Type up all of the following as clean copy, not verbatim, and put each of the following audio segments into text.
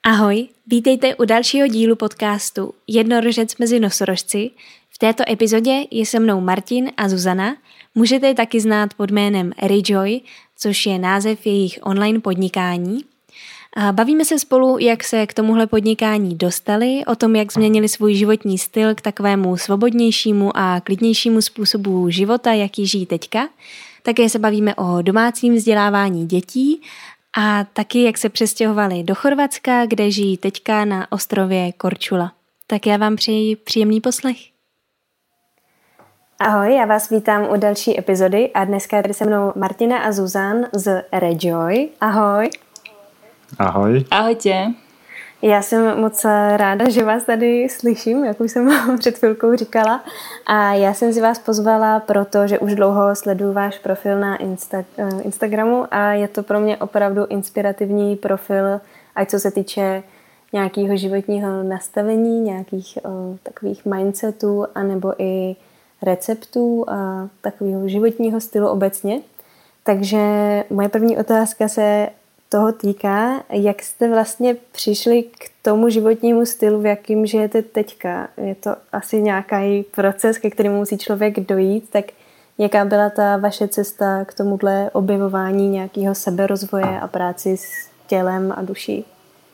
Ahoj, vítejte u dalšího dílu podcastu Jednorožec mezi nosorožci. V této epizodě je se mnou Martin a Zuzana. Můžete je taky znát pod jménem Rejoy, což je název jejich online podnikání. Bavíme se spolu, jak se k tomuhle podnikání dostali, o tom, jak změnili svůj životní styl k takovému svobodnějšímu a klidnějšímu způsobu života, jaký žijí teďka. Také se bavíme o domácím vzdělávání dětí a taky, jak se přestěhovali do Chorvatska, kde žijí teďka na ostrově Korčula. Tak já vám přeji příjemný poslech. Ahoj, já vás vítám u další epizody a dneska je tady se mnou Martina a Zuzan z Rejoy. Ahoj. Ahoj. Ahojte. Já jsem moc ráda, že vás tady slyším, jak už jsem vám před chvilkou říkala. A já jsem si vás pozvala, protože už dlouho sleduju váš profil na Instagramu a je to pro mě opravdu inspirativní profil, ať co se týče nějakého životního nastavení, nějakých takových mindsetů, anebo i receptů a takového životního stylu obecně. Takže moje první otázka se toho týká, jak jste vlastně přišli k tomu životnímu stylu, v jakým žijete teďka. Je to asi nějaký proces, ke kterému musí člověk dojít, tak jaká byla ta vaše cesta k tomuhle objevování nějakého seberozvoje a práci s tělem a duší?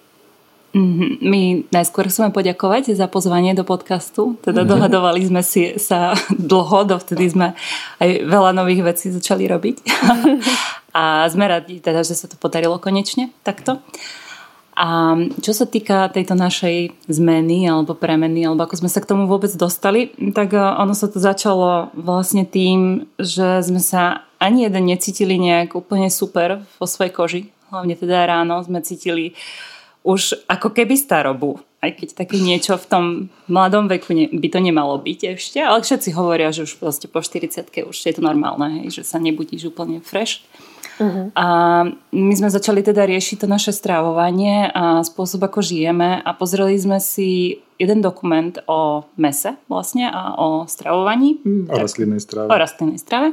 My najskôr chceme poďakovať za pozvanie do podcastu. Teda dohadovali sme si sa dlho, dovtedy sme aj veľa nových vecí začali robiť. A sme radi, teda, že sa to podarilo konečne takto. A čo sa týka tejto našej zmeny alebo premeny, alebo ako sme sa k tomu vôbec dostali, tak ono sa to začalo vlastne tým, že sme sa ani jeden necítili nejak úplne super vo svojej koži. Hlavne teda ráno sme cítili už ako keby starobu, aj keď také niečo v tom mladom veku by to nemalo byť ešte, ale všetci hovoria, že už vlastne po 40-ke už je to normálne, hej, že sa nebudíš úplne fresh. Uh-huh. A my sme začali teda riešiť to naše stravovanie a spôsob, ako žijeme a pozreli sme si jeden dokument o mese vlastne a o stravovaní. O rastlinnej strave. O rastlinnej strave.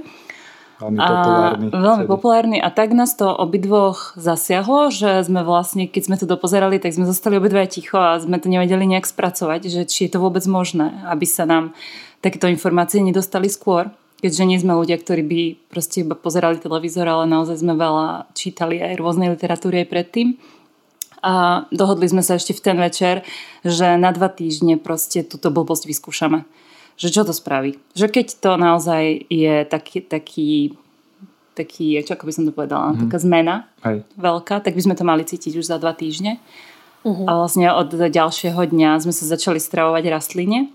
Veľmi populárny a tak nás to obidvoch zasiahlo, že sme vlastne, keď sme to dopozerali, tak sme zostali obidva ticho a sme to nevedeli nejak spracovať, že či je to vôbec možné, aby sa nám takéto informácie nedostali skôr, keďže nie sme ľudia, ktorí by proste iba pozerali televízor, ale naozaj sme veľa čítali aj rôznej literatúry aj predtým. A dohodli sme sa ešte v ten večer, že na 2 týždne proste túto blbosť vyskúšame. Že čo to spraví. Že keď to naozaj je taký ako by som to povedala, taká zmena veľká, tak by sme to mali cítiť už za 2 týždne. Uh-huh. A vlastne od ďalšieho dňa sme sa začali stravovať rastline.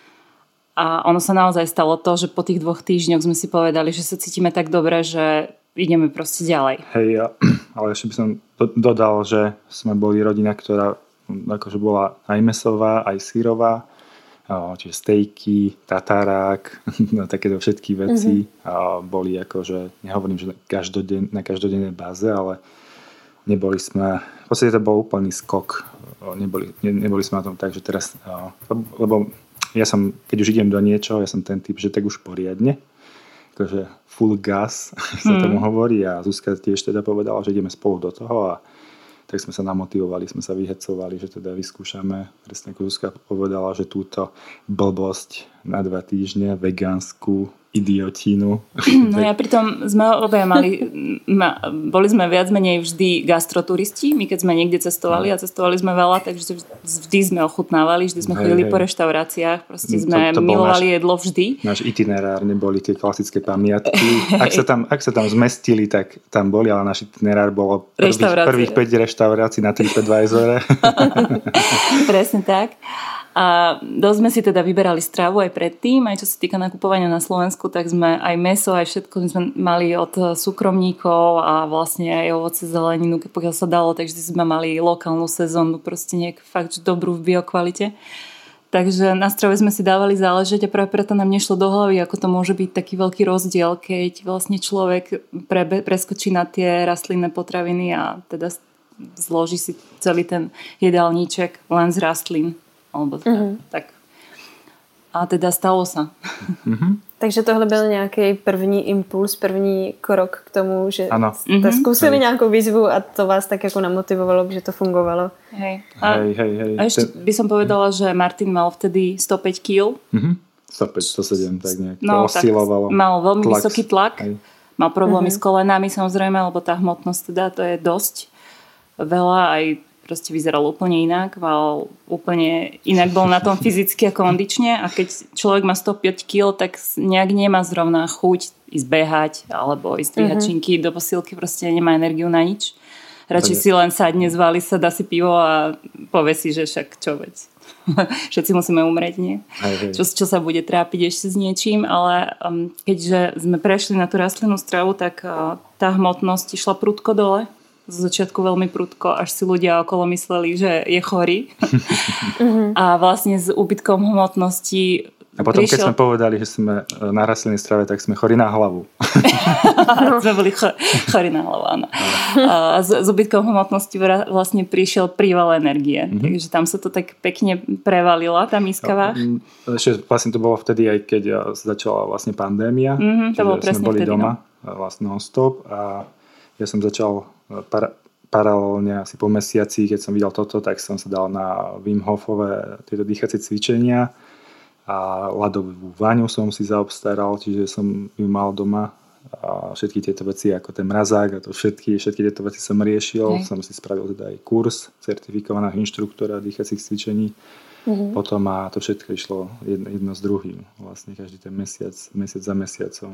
A ono sa naozaj stalo to, že po tých 2 týždňoch sme si povedali, že sa cítime tak dobre, že ideme proste ďalej. Hej, ale ešte by som dodal, že sme boli rodina, ktorá akože bola aj mesová, aj sírová. Čiže stejky, tatarák, takéto všetky veci boli akože, nehovorím, že na každodennej báze, ale neboli sme, v podstate to bol úplný skok, neboli sme na tom tak, že teraz, lebo ja som, keď už idem do niečoho, ja som ten typ, že tak už poriadne, akože full gas sa tomu hovorí a Zuzka tiež teda povedala, že ideme spolu do toho a tak sme sa namotivovali, sme sa vyhecovali, že teda vyskúšame. Presne ako Zuzka povedala, že túto blbosť na 2 týždne, vegánsku idiotínu. No ja pritom sme obaja boli sme viac menej vždy gastroturisti. My keď sme niekde cestovali a cestovali sme veľa, takže vždy sme ochutnávali, vždy sme chodili po reštauráciách, proste sme milovali jedlo vždy. Náš itinerár neboli tie klasické pamiatky. Ak sa tam zmestili, tak tam boli, ale náš itinerár bolo prvých 5 reštaurácií na TripAdvisore. Presne tak. A dosť sme si teda vyberali stravu aj predtým, aj čo sa týka nakupovania na Slovensku, tak sme aj mäso, aj všetko sme mali od súkromníkov a vlastne aj ovoce, zeleninu, pokiaľ sa dalo, takže sme mali lokálnu sezónu, proste nejak fakt dobrú v biokvalite. Takže na strave sme si dávali záležať a práve preto nám nešlo do hlavy, ako to môže byť taký veľký rozdiel, keď vlastne človek preskočí na tie rastlinné potraviny a teda zloží si celý ten jedálniček len z rastlín. Alebo tak. A teda stalo sa. Takže tohle byl nějaký první impuls, první krok k tomu, že jste zkusili nějakou výzvu a to vás tak jako namotivovalo, že to fungovalo. Hej. A ešte by som povedala, že Martin mal vtedy 105 kg. 105, 107, tak nejak to oscilovalo. Mal veľmi vysoký tlak. Mal problémy s kolenami samozrejme, lebo tá hmotnosť teda to je dosť veľa, aj proste vyzeral úplne inak, úplne inak bol na tom fyzicky a kondične a keď človek má 105 kg, tak nejak nemá zrovna chuť ísť behať alebo ísť dvíhať činky do posilky, proste nemá energiu na nič. Radšej si len sadne, zváli sa, dá si pivo a povie si, že však čo veď. Všetci musíme umrieť, nie? Čo sa bude trápiť ešte s niečím, ale keďže sme prešli na tú rastlinnú stravu, tak tá hmotnosť išla prudko dole. Z začiatku veľmi prudko, až si ľudia okolo mysleli, že je chorý. A vlastne s úbytkom hmotnosti a potom, keď sme povedali, že sme na rastlinnej strave, tak sme chorí na hlavu. Sme boli chorí na hlavu, áno. A s úbytkom hmotnosti vlastne prišiel príval energie. Takže tam sa to tak pekne prevalila, tá miska váh. Ešte vlastne to bolo vtedy, aj keď začala vlastne pandémia. To bolo presne sme boli vtedy, doma vlastne non-stop a ja som začal paralelne asi po mesiaci, keď som videl toto, tak som sa dal na Wim Hofové tieto dýchacie cvičenia a ľadovú vaňu som si zaobstaral, čiže som ju mal doma a všetky tieto veci ako ten mrazák a to všetky tieto veci som riešil. Som si spravil teda aj kurz certifikovaného inštruktora dýchacích cvičení. Potom a to všetko išlo jedno s druhým. Vlastne každý ten mesiac za mesiacom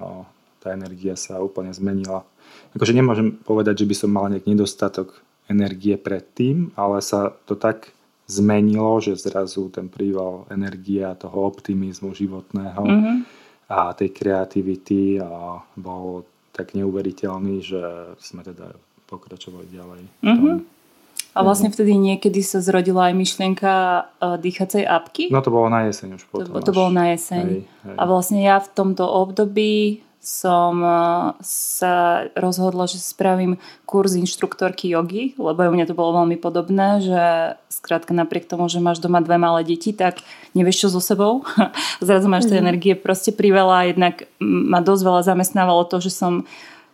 tá energia sa úplne zmenila. Akože nemôžem povedať, že by som mal nejak nedostatok energie predtým, ale sa to tak zmenilo, že zrazu ten príval energie a toho optimizmu životného a tej kreativity bol tak neuveriteľný, že sme teda pokračovali ďalej. A vlastne vtedy niekedy sa zrodila aj myšlienka dýchacej apky? No to bolo na jeseň už potom. To bolo na jeseň. Hej. A vlastne ja v tomto období som sa rozhodla, že spravím kurz inštruktorky jogy, lebo u mňa to bolo veľmi podobné, že skrátka napriek tomu, že máš doma 2 malé deti, tak nevieš čo so sebou. Zrazu máš tej energie proste priveľa, jednak ma dosť veľa zamestnávalo to, že som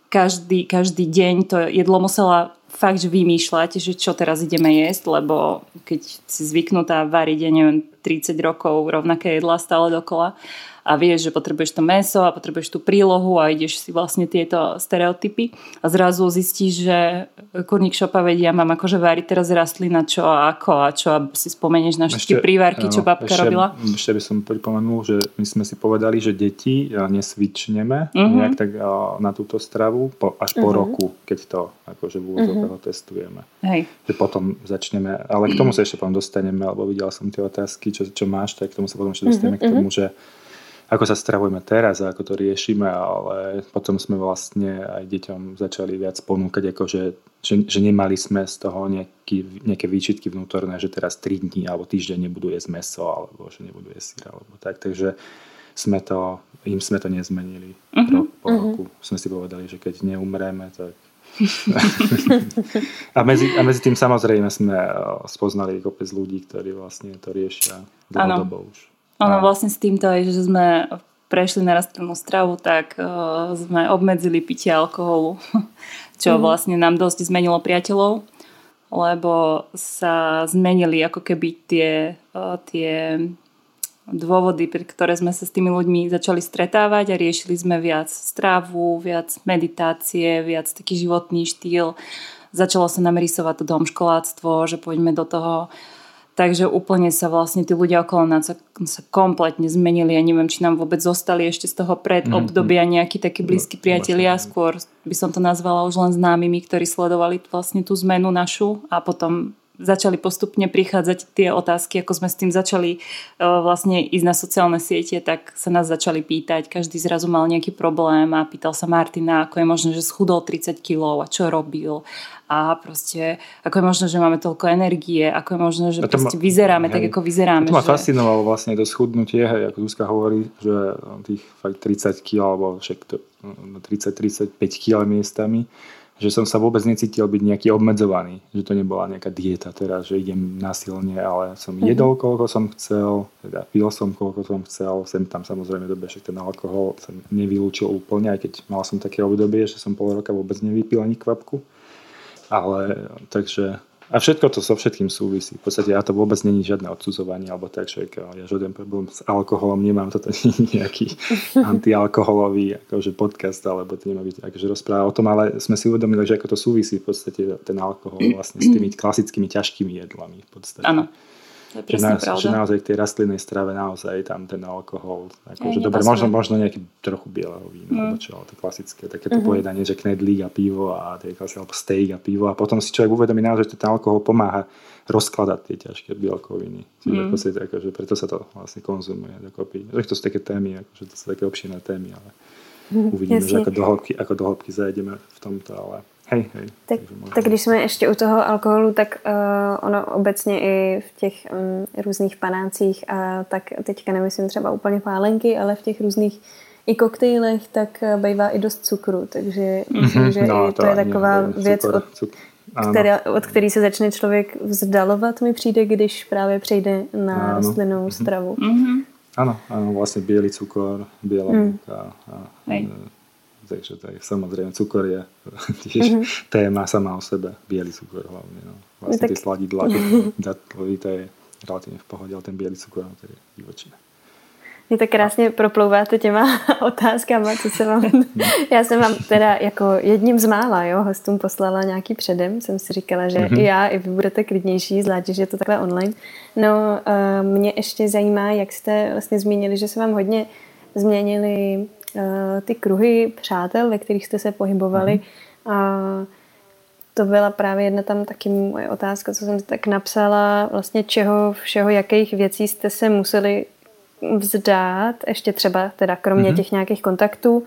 každý deň to jedlo musela fakt, že vymýšľať, že čo teraz ideme jesť, lebo keď si zvyknutá variť, ja neviem, 30 rokov rovnaké jedlá stále dokola a vieš, že potrebuješ to mäso a potrebuješ tú prílohu a ideš si vlastne tieto stereotypy a zrazu zistíš, že kurník šopa vedia, mám akože variť teraz rastlina, čo a ako a čo a si spomenieš na všetky prívárky, čo babka robila. Ešte by som pripomenul, že my sme si povedali, že deti nesvičneme nejak tak na túto stravu až po roku, keď to akože v úvodzovkách testujeme. Hej. Že potom začneme, ale k tomu sa ešte potom dostaneme, lebo videla som tie otázky, čo máš, tak k tomu sa potom ešte dostaneme k tomu, že ako sa stravujeme teraz a ako to riešime, ale potom sme vlastne aj deťom začali viac ponúkať, akože, že nemali sme z toho nejaké výčitky vnútorné, že teraz 3 dní alebo týždeň nebudú jesť mäso alebo že nebudú jesť syr alebo tak. Takže sme to nezmenili. Po roku sme si povedali, že keď neumreme, tak a medzi tým samozrejme sme spoznali kopec ľudí, ktorí vlastne to riešia dlhodobo už. Ono vlastne s týmto aj, že sme prešli na rastlinnú stravu, tak sme obmedzili pitie alkoholu, čo vlastne nám dosť zmenilo priateľov, lebo sa zmenili ako keby tie dôvody, pre ktoré sme sa s tými ľuďmi začali stretávať a riešili sme viac stravu, viac meditácie, viac taký životný štýl. Začalo sa nám rysovať to domškoláctvo, že poďme do toho. Takže úplne sa vlastne tí ľudia okolo nás sa kompletne zmenili. Ja neviem, či nám vôbec zostali ešte z toho predobdobia nejakí takí blízki priatelia. Skôr by som to nazvala už len známymi, ktorí sledovali vlastne tú zmenu našu a potom začali postupne prichádzať tie otázky, ako sme s tým začali vlastne ísť na sociálne siete, tak sa nás začali pýtať. Každý zrazu mal nejaký problém a pýtal sa Martina, ako je možné, že schudol 30 kg a čo robil. A proste, ako je možné, že máme toľko energie, ako je možné, že proste vyzeráme tak, ako vyzeráme. To ma fascinovalo vlastne to schudnutie, ako Zuzka hovorí, že tých fakt 30 kg alebo však 30-35 kg miestami, že som sa vôbec necítil byť nejaký obmedzovaný, že to nebola nejaká dieta teraz, že idem násilne, ale som jedol koľko som chcel, teda pil som koľko som chcel, sem tam samozrejme dobe, že ten alkohol som nevylúčil úplne, aj keď mal som také obdobie, že som pol roka vôbec nevypil ani kvapku, ale takže a všetko to so všetkým súvisí. V podstate ja to vôbec není žiadne odsudzovanie, alebo tak, že ja žiaden problém s alkoholom nemám, toto nie je nejaký antialkoholový akože podcast, alebo to nemá byť akože rozpráva o tom, ale sme si uvedomili, že ako to súvisí v podstate ten alkohol vlastne s tými klasickými ťažkými jedlami v podstate. Áno. To je presne pravda. Že naozaj k tej rastlinnej strave naozaj tam ten alkohol, akože dobre, možno nejaký trochu bieleho vína, alebo čo, ale to klasické, takéto pojedanie, že knedlík a pivo a alebo steak a pivo a potom si človek uvedomí naozaj, že ten alkohol pomáha rozkladať tie ťažké bielkoviny. Čiže v podstate akože preto sa to vlastne konzumuje dokopy. To sú také témy, akože to sú také obširné témy, ale uvidíme, že ako do hĺbky zajdeme v tomto, ale hej. Tak když jsme ještě u toho alkoholu, tak ono obecně i v těch různých panácích a tak teďka nemyslím třeba úplně pálenky, ale v těch různých i koktejlech, tak bývá i dost cukru, takže myslím, že i to je taková věc, od který se začne člověk vzdalovat, mi přijde, když právě přejde na rostlinnou stravu. Áno, vlastne biely cukor, biela múka takže tak, samozrejme cukor je tiež téma sama o sebe, biely cukor hlavne. No. Vlastne tie sladidlá, to je relatívne v pohode, ale ten biely cukor to je divočina. Mě tak krásně proplouváte těma otázkama, co se vám... Já jsem vám teda jako jedním z mála hostům poslala nějaký předem. Jsem si říkala, že i já, i vy budete klidnější, zvlášť, že je to takhle online. No, mě ještě zajímá, jak jste vlastně zmínili, že se vám hodně změnily ty kruhy přátel, ve kterých jste se pohybovali. A to byla právě jedna tam taky moje otázka, co jsem tak napsala, vlastně čeho všeho, jakých věcí jste se museli vzdát, ještě třeba teda kromě těch nějakých kontaktů,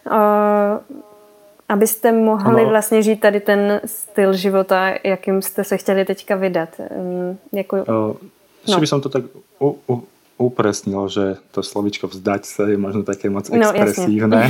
abyste mohli vlastně žít tady ten styl života, jakým jste se chtěli teďka vydat. Ešte by som to tak upresnil, že to slovičko vzdať sa je možno také moc expresívne.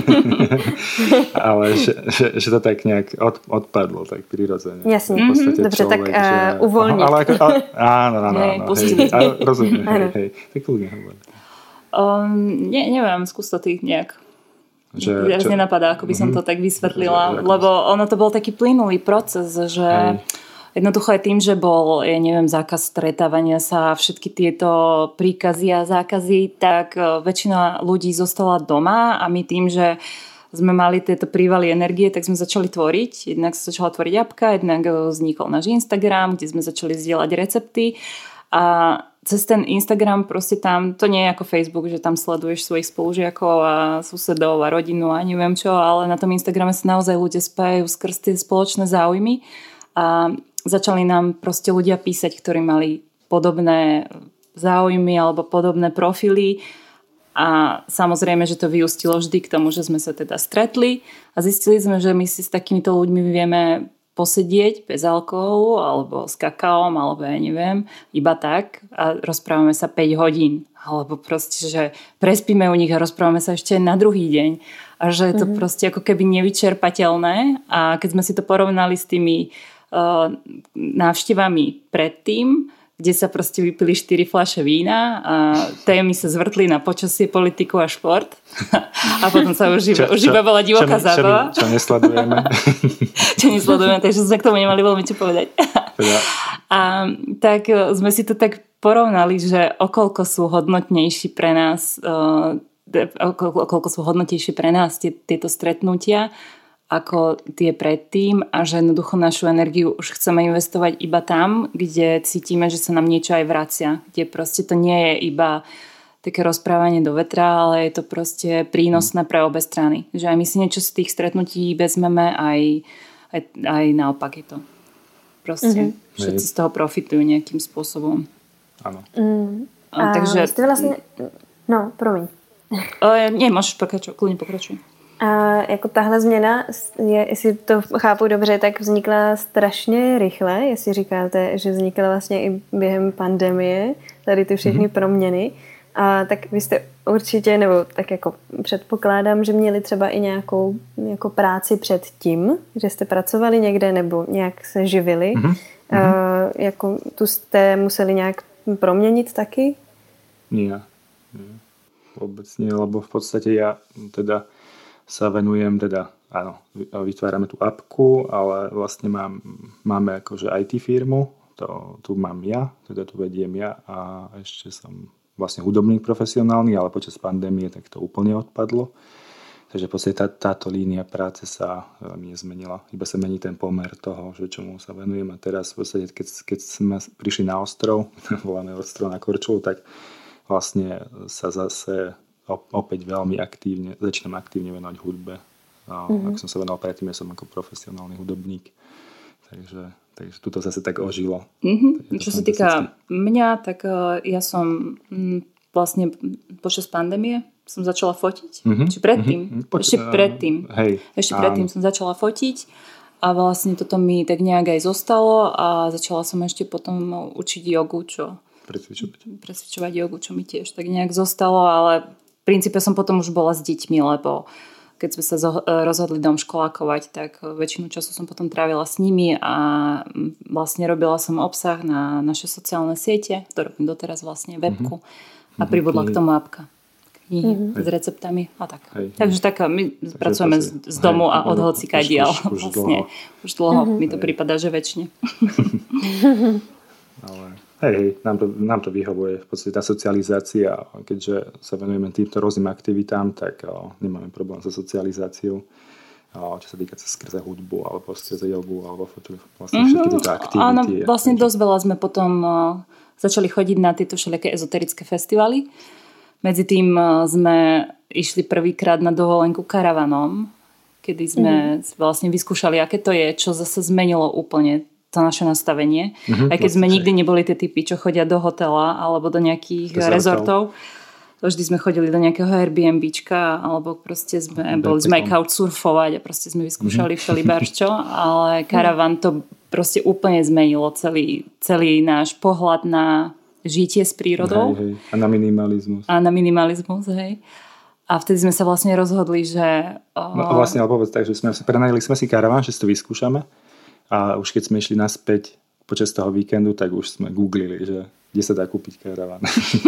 Ale že to tak nejak odpadlo tak prirodzene. Jasne. Dobře, tak uvoľniť. Áno. Rozumiem. Hej. Tak kľudne hovor. Neviem, skús to ty nejak. Viac nenapadá, ako by som to tak vysvetlila, lebo ono to bol taký plynulý proces, že jednoducho aj tým, že bol, zákaz stretávania sa, všetky tieto príkazy a zákazy, tak väčšina ľudí zostala doma a my tým, že sme mali tieto prívaly energie, tak sme začali tvoriť. Jednak sa začala tvoriť apka, jednak vznikol náš Instagram, kde sme začali zdieľať recepty a cez ten Instagram proste tam, to nie je ako Facebook, že tam sleduješ svojich spolužiakov a susedov a rodinu a neviem čo, ale na tom Instagrame sa naozaj ľudia spájajú skrz tie spoločné záujmy a začali nám proste ľudia písať, ktorí mali podobné záujmy alebo podobné profily a samozrejme, že to vyústilo vždy k tomu, že sme sa teda stretli a zistili sme, že my si s takýmito ľuďmi vieme posedieť bez alkoholu alebo s kakaom alebo ja neviem, iba tak a rozprávame sa 5 hodín alebo proste, že prespíme u nich a rozprávame sa ešte na druhý deň a že je to proste ako keby nevyčerpateľné a keď sme si to porovnali s tými návštevami predtým, kde sa proste vypili 4 fľaše vína a témy sa zvrtli na počasie, politiku a šport a potom sa už iba bola divoká zábava. Čo nesledujeme. Čo nesledujeme, takže sme k tomu nemali veľmi čo povedať. A tak sme si to tak porovnali, že okoľko sú hodnotnejší pre nás tieto stretnutia ako tie predtým a že jednoducho našu energiu už chceme investovať iba tam, kde cítime, že sa nám niečo aj vracia. Kde proste to nie je iba také rozprávanie do vetra, ale je to proste prínosné pre obe strany. Že aj my si niečo z tých stretnutí vezmeme, aj naopak je to. Proste všetci z toho profitujú nejakým spôsobom. Áno. Takže... Ste vlastne... No, promiň. Nie, môžeš pokračovať, kľudne pokračuj. A jako tahle změna, jestli to chápu dobře, tak vznikla strašně rychle, jestli říkáte, že vznikla vlastně i během pandemie, tady ty všechny proměny. A tak vy jste určitě, nebo tak jako předpokládám, že měli třeba i nějakou jako práci před tím, že jste pracovali někde nebo nějak se živili. Jako tu jste museli nějak proměnit taky? Nie. Vôbec nie, lebo v podstate ja teda sa venujem, teda áno, vytvárame tú apku, ale vlastne máme akože IT firmu, tu mám ja, teda tu vediem ja a ešte som vlastne hudobník profesionálny, ale počas pandémie tak to úplne odpadlo. Takže v podstate táto línia práce sa veľmi nezmenila. Iba sa mení ten pomer toho, že čomu sa venujem. A teraz v podstate, keď sme prišli na ostrov, voláme ostrov na Korčulu, tak vlastne sa zase opäť veľmi začínam aktívne venovať hudbe. Ak som sa venoval predtým, ja som ako profesionálny hudobník. Takže tuto zase tak ožilo. Čo sa týka mňa, tak ja som vlastne počas pandémie som začala fotiť. Či predtým? Ešte predtým. Ešte predtým som začala fotiť a vlastne toto mi tak nejak aj zostalo a začala som ešte potom učiť jogu, presvičovať jogu, čo mi tiež tak nejak zostalo, ale v princípe som potom už bola s deťmi, lebo keď sme sa rozhodli domškolákovať, tak väčšinu času som potom trávila s nimi a vlastne robila som obsah na naše sociálne siete, to robím doteraz vlastne webku a pribudla k tomu apka. Knihy s receptami a tak. Takže tak my pracujeme z domu a od hocika diel. Vlastne už dlho mi to prípada, že väčšine. Ale nám to vyhovuje. V podstate tá socializácia, keďže sa venujeme týmto rôznym aktivitám, tak nemáme problém so socializáciou. Čo sa týka skrze hudbu, alebo skrze jogu, alebo vlastne všetky tieto aktivity. Áno, vlastne dosť veľa sme potom začali chodiť na tieto všelijaké ezoterické festivaly. Medzi tým sme išli prvýkrát na dovolenku karavanom, kedy sme vlastne vyskúšali, aké to je, čo zase zmenilo úplne to naše nastavenie. Aj keď sme nikdy neboli tie typy, čo chodia do hotela alebo do nejakých rezortov. Vždy sme chodili do nejakého Airbnbčka alebo proste sme aj couchsurfovať a proste sme vyskúšali všelibarčo, ale karavan to proste úplne zmenilo celý náš pohľad na žitie s prírodou. Hej. A na minimalizmus. Hej. A vtedy sme sa vlastne rozhodli, že... Vlastne, ale povedz tak, že prenajali sme si karavan, že si to vyskúšame a už keď sme išli naspäť počas toho víkendu, tak už sme googlili, že kde sa dá kúpiť karavan.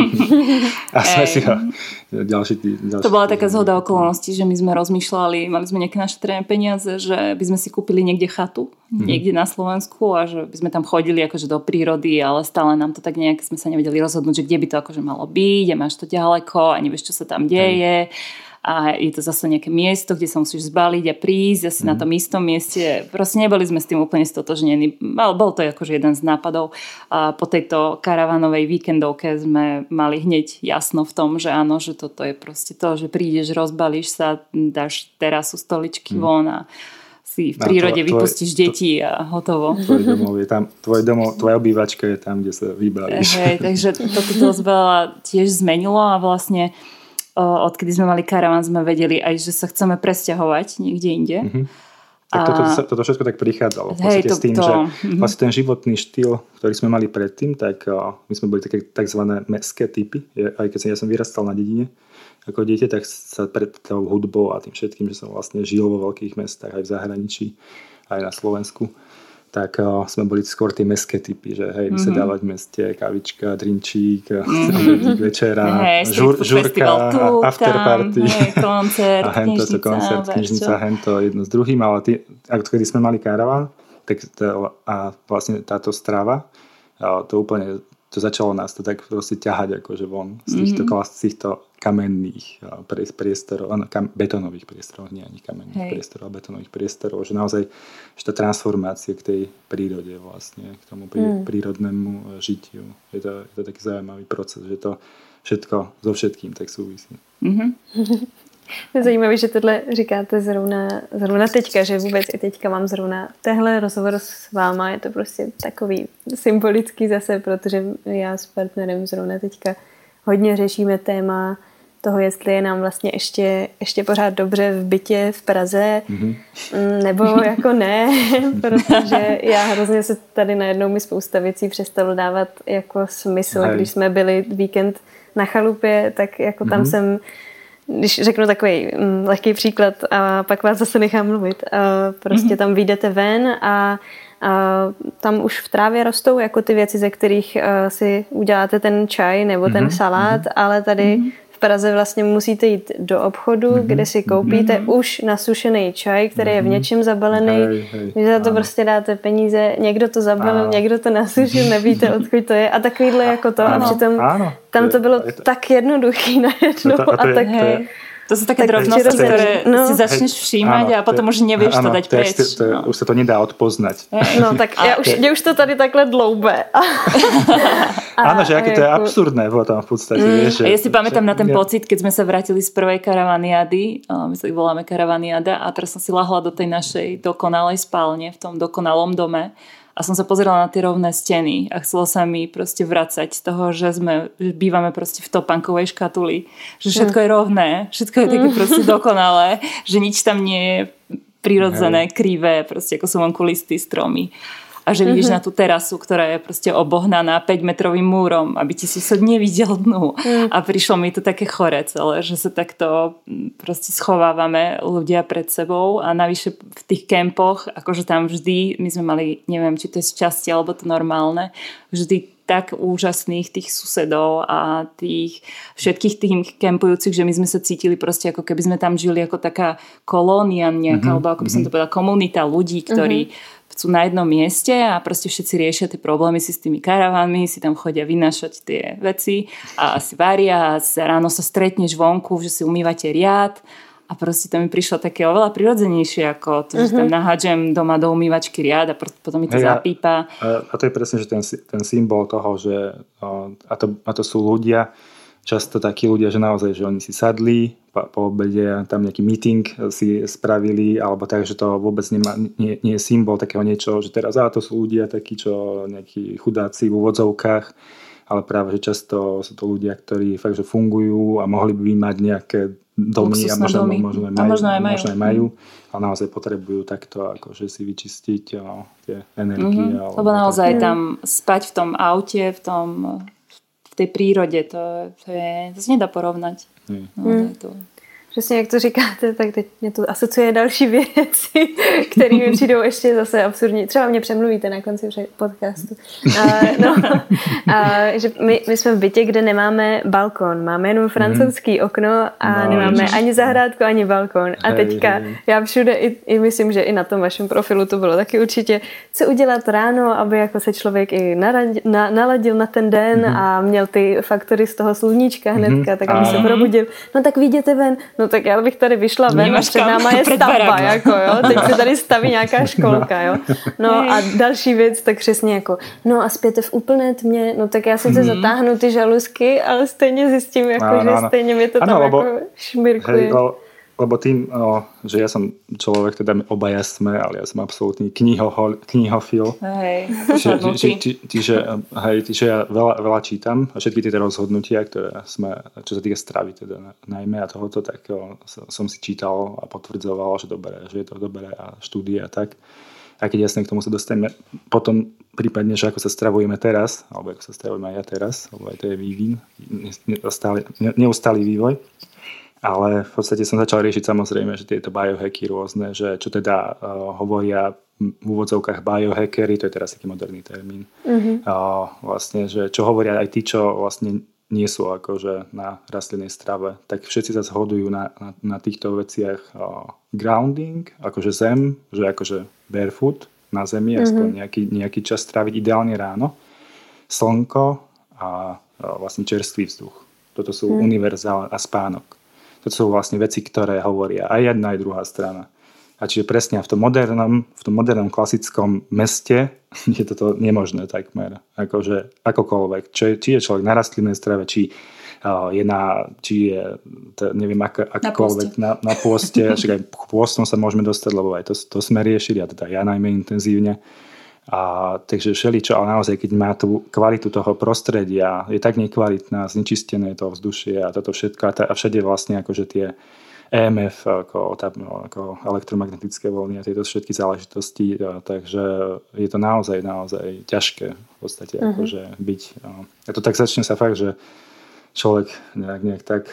A sme si ho ďalší to bola taká zhoda okolností, že my sme rozmýšľali, mali sme nejaké našetrené peniaze, že by sme si kúpili niekde chatu, niekde na Slovensku a že by sme tam chodili akože do prírody, ale stále nám to tak nejak sme sa nevedeli rozhodnúť, že kde by to akože malo byť a máš to ďaleko a nevieš, čo sa tam deje. A je to zase nejaké miesto, kde sa musíš zbaliť a prísť asi na tom istom mieste. Proste neboli sme s tým úplne stotožnení. Bol to akože jeden z nápadov. A po tejto karavanovej víkendovke sme mali hneď jasno v tom, že áno, že toto je proste to, že prídeš, rozbalíš sa, dáš terasu, stoličky von a si v prírode vypustíš deti a hotovo. Tvoj domov je tam, tvoja obývačka je tam, kde sa vybalíš. Takže toto dosť veľa tiež zmenilo a vlastne odkedy sme mali karavan, sme vedeli aj, že sa chceme presťahovať niekde inde. Tak toto všetko tak prichádzalo. V podstate s tým, že vlastne ten životný štýl, ktorý sme mali predtým, tak my sme boli také takzvané mestské typy. Aj keď ja som vyrastal na dedine ako dieťa, tak sa pred tou hudbou a tým všetkým, že som vlastne žil vo veľkých mestách aj v zahraničí, aj na Slovensku, tak sme boli skôr tie mestské typy, že hej, vysedávať v meste, kavička, drinčík, večera, žurka, afterparty, koncert, knižnica, hento jedno s druhým, ale kedy sme mali karavan, tak a vlastne táto strava, to úplne to začalo nás to tak proste ťahať akože von z týchto kamenných priestorov, betónových priestorov, nie ani kamenných priestorov, ale betónových priestorov, že naozaj že tá transformácia k tej prírode vlastne, k tomu prírodnému žitiu. Je to taký zaujímavý proces, že to všetko so všetkým tak súvisí. Je zajímavé, že tohle říkáte zrovna teďka, že vůbec i teďka mám zrovna tehle rozhovor s váma, je to prostě takový symbolický zase, protože já s partnerem zrovna teďka hodně řešíme téma toho, jestli je nám vlastně ještě pořád dobře v bytě v Praze, nebo jako ne, protože já hrozně se tady najednou mi spousta věcí přestalo dávat jako smysl. Když jsme byli víkend na chalupě, tak jako tam jsem, když řeknu takový lehký příklad a pak vás zase nechám mluvit, prostě tam vyjdete ven a tam už v trávě rostou jako ty věci, ze kterých si uděláte ten čaj nebo ten salát, ale tady v Praze vlastně musíte jít do obchodu, kde si koupíte už nasušený čaj, který je v něčem zabalený. Vy za to prostě dáte peníze, někdo to zabalil, někdo to nasušil, nevíte, odkud to je a takovýhle jako to. A přitom tam to bylo tak jednoduchý najednou. To sú také drobnosti, ktoré si začneš všímať a potom už nevieš to dať preč. Už sa to nedá odpoznať. No tak mne už to tady takhle dloube. Áno, že aké to je absurdné potom v podstate. Ja si pamätám na ten pocit, keď sme sa vrátili z prvej karavaniady, my sa ich voláme karavaniada a teraz som si lahla do tej našej dokonalej spálne v tom dokonalom dome a som sa pozerala na tie rovné steny a chcelo sa mi proste vracať z toho, že bývame proste v topánkovej škatuli, že všetko je rovné, všetko je také proste dokonalé, že nič tam nie je prirodzené, krivé, proste ako sú vonku listy, stromy. A že vidíš na tú terasu, ktorá je proste obohnaná 5-metrovým múrom, aby ti sused nevidel dnu. A prišlo mi to také chore celé, že sa takto proste schovávame ľudia pred sebou a navyše v tých kempoch, akože tam vždy, my sme mali, neviem, či to je šťastie alebo to normálne, vždy tak úžasných tých susedov a tých všetkých tých kempujúcich, že my sme sa cítili proste ako keby sme tam žili ako taká kolónia nejaká, alebo ako by som to povedala, komunita ľudí, ktorí sú na jednom mieste a proste všetci riešia tie problémy si s tými karavánmi, si tam chodia vynášať tie veci a si varia a ráno sa stretneš vonku, že si umývate riad a proste to mi prišlo také oveľa prirodzenejšie ako to, že tam nahádžem doma do umývačky riad a potom mi to zapípa. A to je presne, že ten symbol toho, že a to sú ľudia, často takí ľudia, že naozaj, že oni si sadli po obede, tam nejaký meeting si spravili, alebo tak, že to vôbec nie je symbol takého niečo, že teraz to sú ľudia takí, čo nejakí chudáci v úvodzovkách, ale práve, že často sú to ľudia, ktorí fakt, že fungujú a mohli by mať nejaké domy a možno aj majú, ale naozaj potrebujú takto akože si vyčistiť tie energie. Lebo naozaj tam spať v tom aute, v tej prírode, to sa nedá porovnať. Přesně jak to říkáte, tak teď mě to asociuje další věci, které mi přijdou ještě zase absurdní. Třeba mě přemluvíte na konci podcastu. Že my jsme v bytě, kde nemáme balkon. Máme jenom francouzský okno a nemáme ani zahrádku, ani balkon. A teďka já všude, i myslím, že i na tom vašem profilu to bylo taky určitě, co udělat ráno, aby jako se člověk i naladil na ten den a měl ty faktory z toho sluníčka hnedka, tak aby se probudil. No tak vyjděte ven. No tak já bych tady vyšla ven a před náma je stavba, jako jo. Teď se tady staví nějaká školka, jo. No a další věc, tak přesně jako, no a spěte v úplné tmě, no tak já sice zatáhnu ty žaluzky, ale stejně zjistím, jako, že stejně mi to tam jako šmirkuje. Lebo tým, že ja som človek, teda obaja sme, ale ja som absolútny knihofil. Čiže ja veľa čítam a všetky tieto rozhodnutia, ktoré sme, čo sa týka stravy teda najmä a tohoto, tak som si čítal a potvrdzoval, že je to dobré a štúdie a tak. A keď jasne k tomu sa dostaneme potom prípadne, že ako sa stravujeme teraz, alebo ako sa stravujeme aj ja teraz, lebo aj to je vývin, neustály vývoj. Ale v podstate som začal riešiť samozrejme, že tieto biohacky rôzne, že čo teda hovoria v úvodzovkách biohackery, to je teraz taký moderný termín. Vlastne, že čo hovoria aj tí, čo vlastne nie sú akože na rastlinnej strave, tak všetci sa zhodujú na týchto veciach grounding, akože zem, že akože barefoot na zemi, aspoň nejaký čas stráviť ideálne ráno, slnko a vlastne čerstvý vzduch. Toto sú univerzálne a spánok. To sú vlastne veci, ktoré hovoria aj jedna, aj druhá strana. A čiže presne v tom modernom klasickom meste je toto nemožné takmer. Akože akokoľvek. Či je človek na rastlinnej strave, či je neviem akokoľvek na pôste. Však aj k pôstom sa môžeme dostať, lebo aj to sme riešili, a teda ja najmä intenzívne. Takže všeličo, ale naozaj, keď má tú kvalitu toho prostredia, je tak nekvalitná, znečistené to vzdušie a toto všetko a všade vlastne akože tie EMF, ako elektromagnetické vlny a tieto všetky záležitosti, takže je to naozaj ťažké v podstate akože byť. A to tak začne sa fakt, že človek nejak tak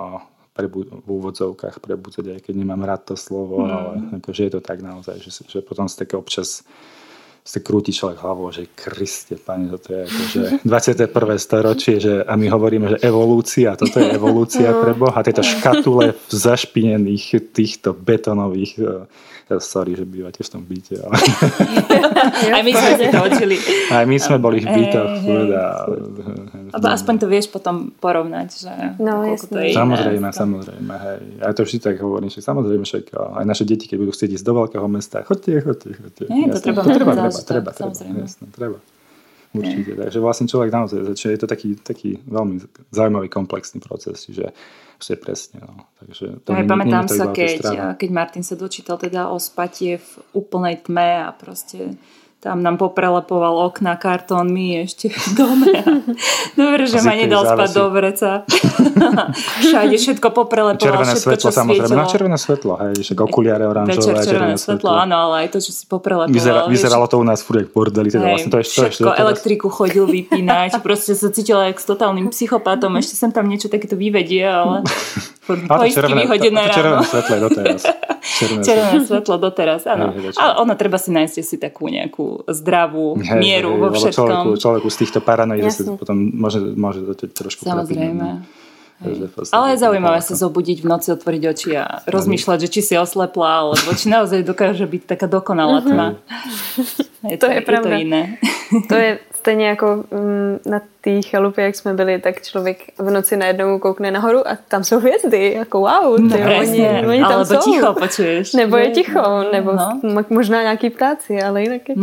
v úvodzovkách prebudzať, aj keď nemám rád to slovo, ale akože je to tak naozaj, že potom sa také občas krúti človek hlavou, že Kriste, Pane, toto je akože 21. storočie, a my hovoríme, že evolúcia, toto je evolúcia pre Boha, tieto škatule v zašpinených týchto betónových, sorry, že bývate v tom byte, ale... Aj my sme si to učili. Aj my sme boli v bytoch. Aspoň to vieš potom porovnať, že koľko to je iné. Samozrejme, hej. Ja to vždy tak hovorím, že samozrejme však aj naše deti, keď budú chcieť ísť do veľkého mesta, chodte. Treba. Jasné, treba. Určite. Takže vlastne človek naozaj začne, je to taký veľmi zaujímavý komplexný proces, že je presne. No. Takže to pamätám sa, keď Martin sa dočítal teda o spatie v úplnej tme a proste tam nám poprelepoval okná kartónmi ešte v dome. Dobre, že ma nedal spať do vreca. Všade všetko poprelepoval, červené všetko, svetlo, čo samozrejme. svietilo. No, červené svetlo, hej, však okuliare oranžové. Večer červené svetlo, áno, ale aj to, čo si poprelepoval. Vyzeralo to u nás furt jak bordeli. Teda vlastne to všetko, elektriku chodil vypínať. Proste sa cítila jak s totálnym psychopatom. Ešte sem tam niečo takéto vyvedie, ale poistky vyhodené ráno. Červené svetlo je doteraz. Červené svetlo doteraz, áno. Ale ono treba si nájsť si takú nejakú zdravú mieru vo všetkom. Človeku z týchto paranoid sa potom môže to trošku samozrejme. Ale je zaujímavé sa zobudiť v noci, otvoriť oči a rozmýšľať, že či si oslepla, alebo či naozaj dokáže byť taká dokonalá tma. To je pravda. To iné. To je stejně jako na té chalupě, jak jsme byli, tak člověk v noci najednou koukne nahoru a tam jsou hvězdy, jako wow, oni tam jsou. Alebo ticho počuješ. Nebo je ticho, nebo možná nějaký ptáci, ale jinak je.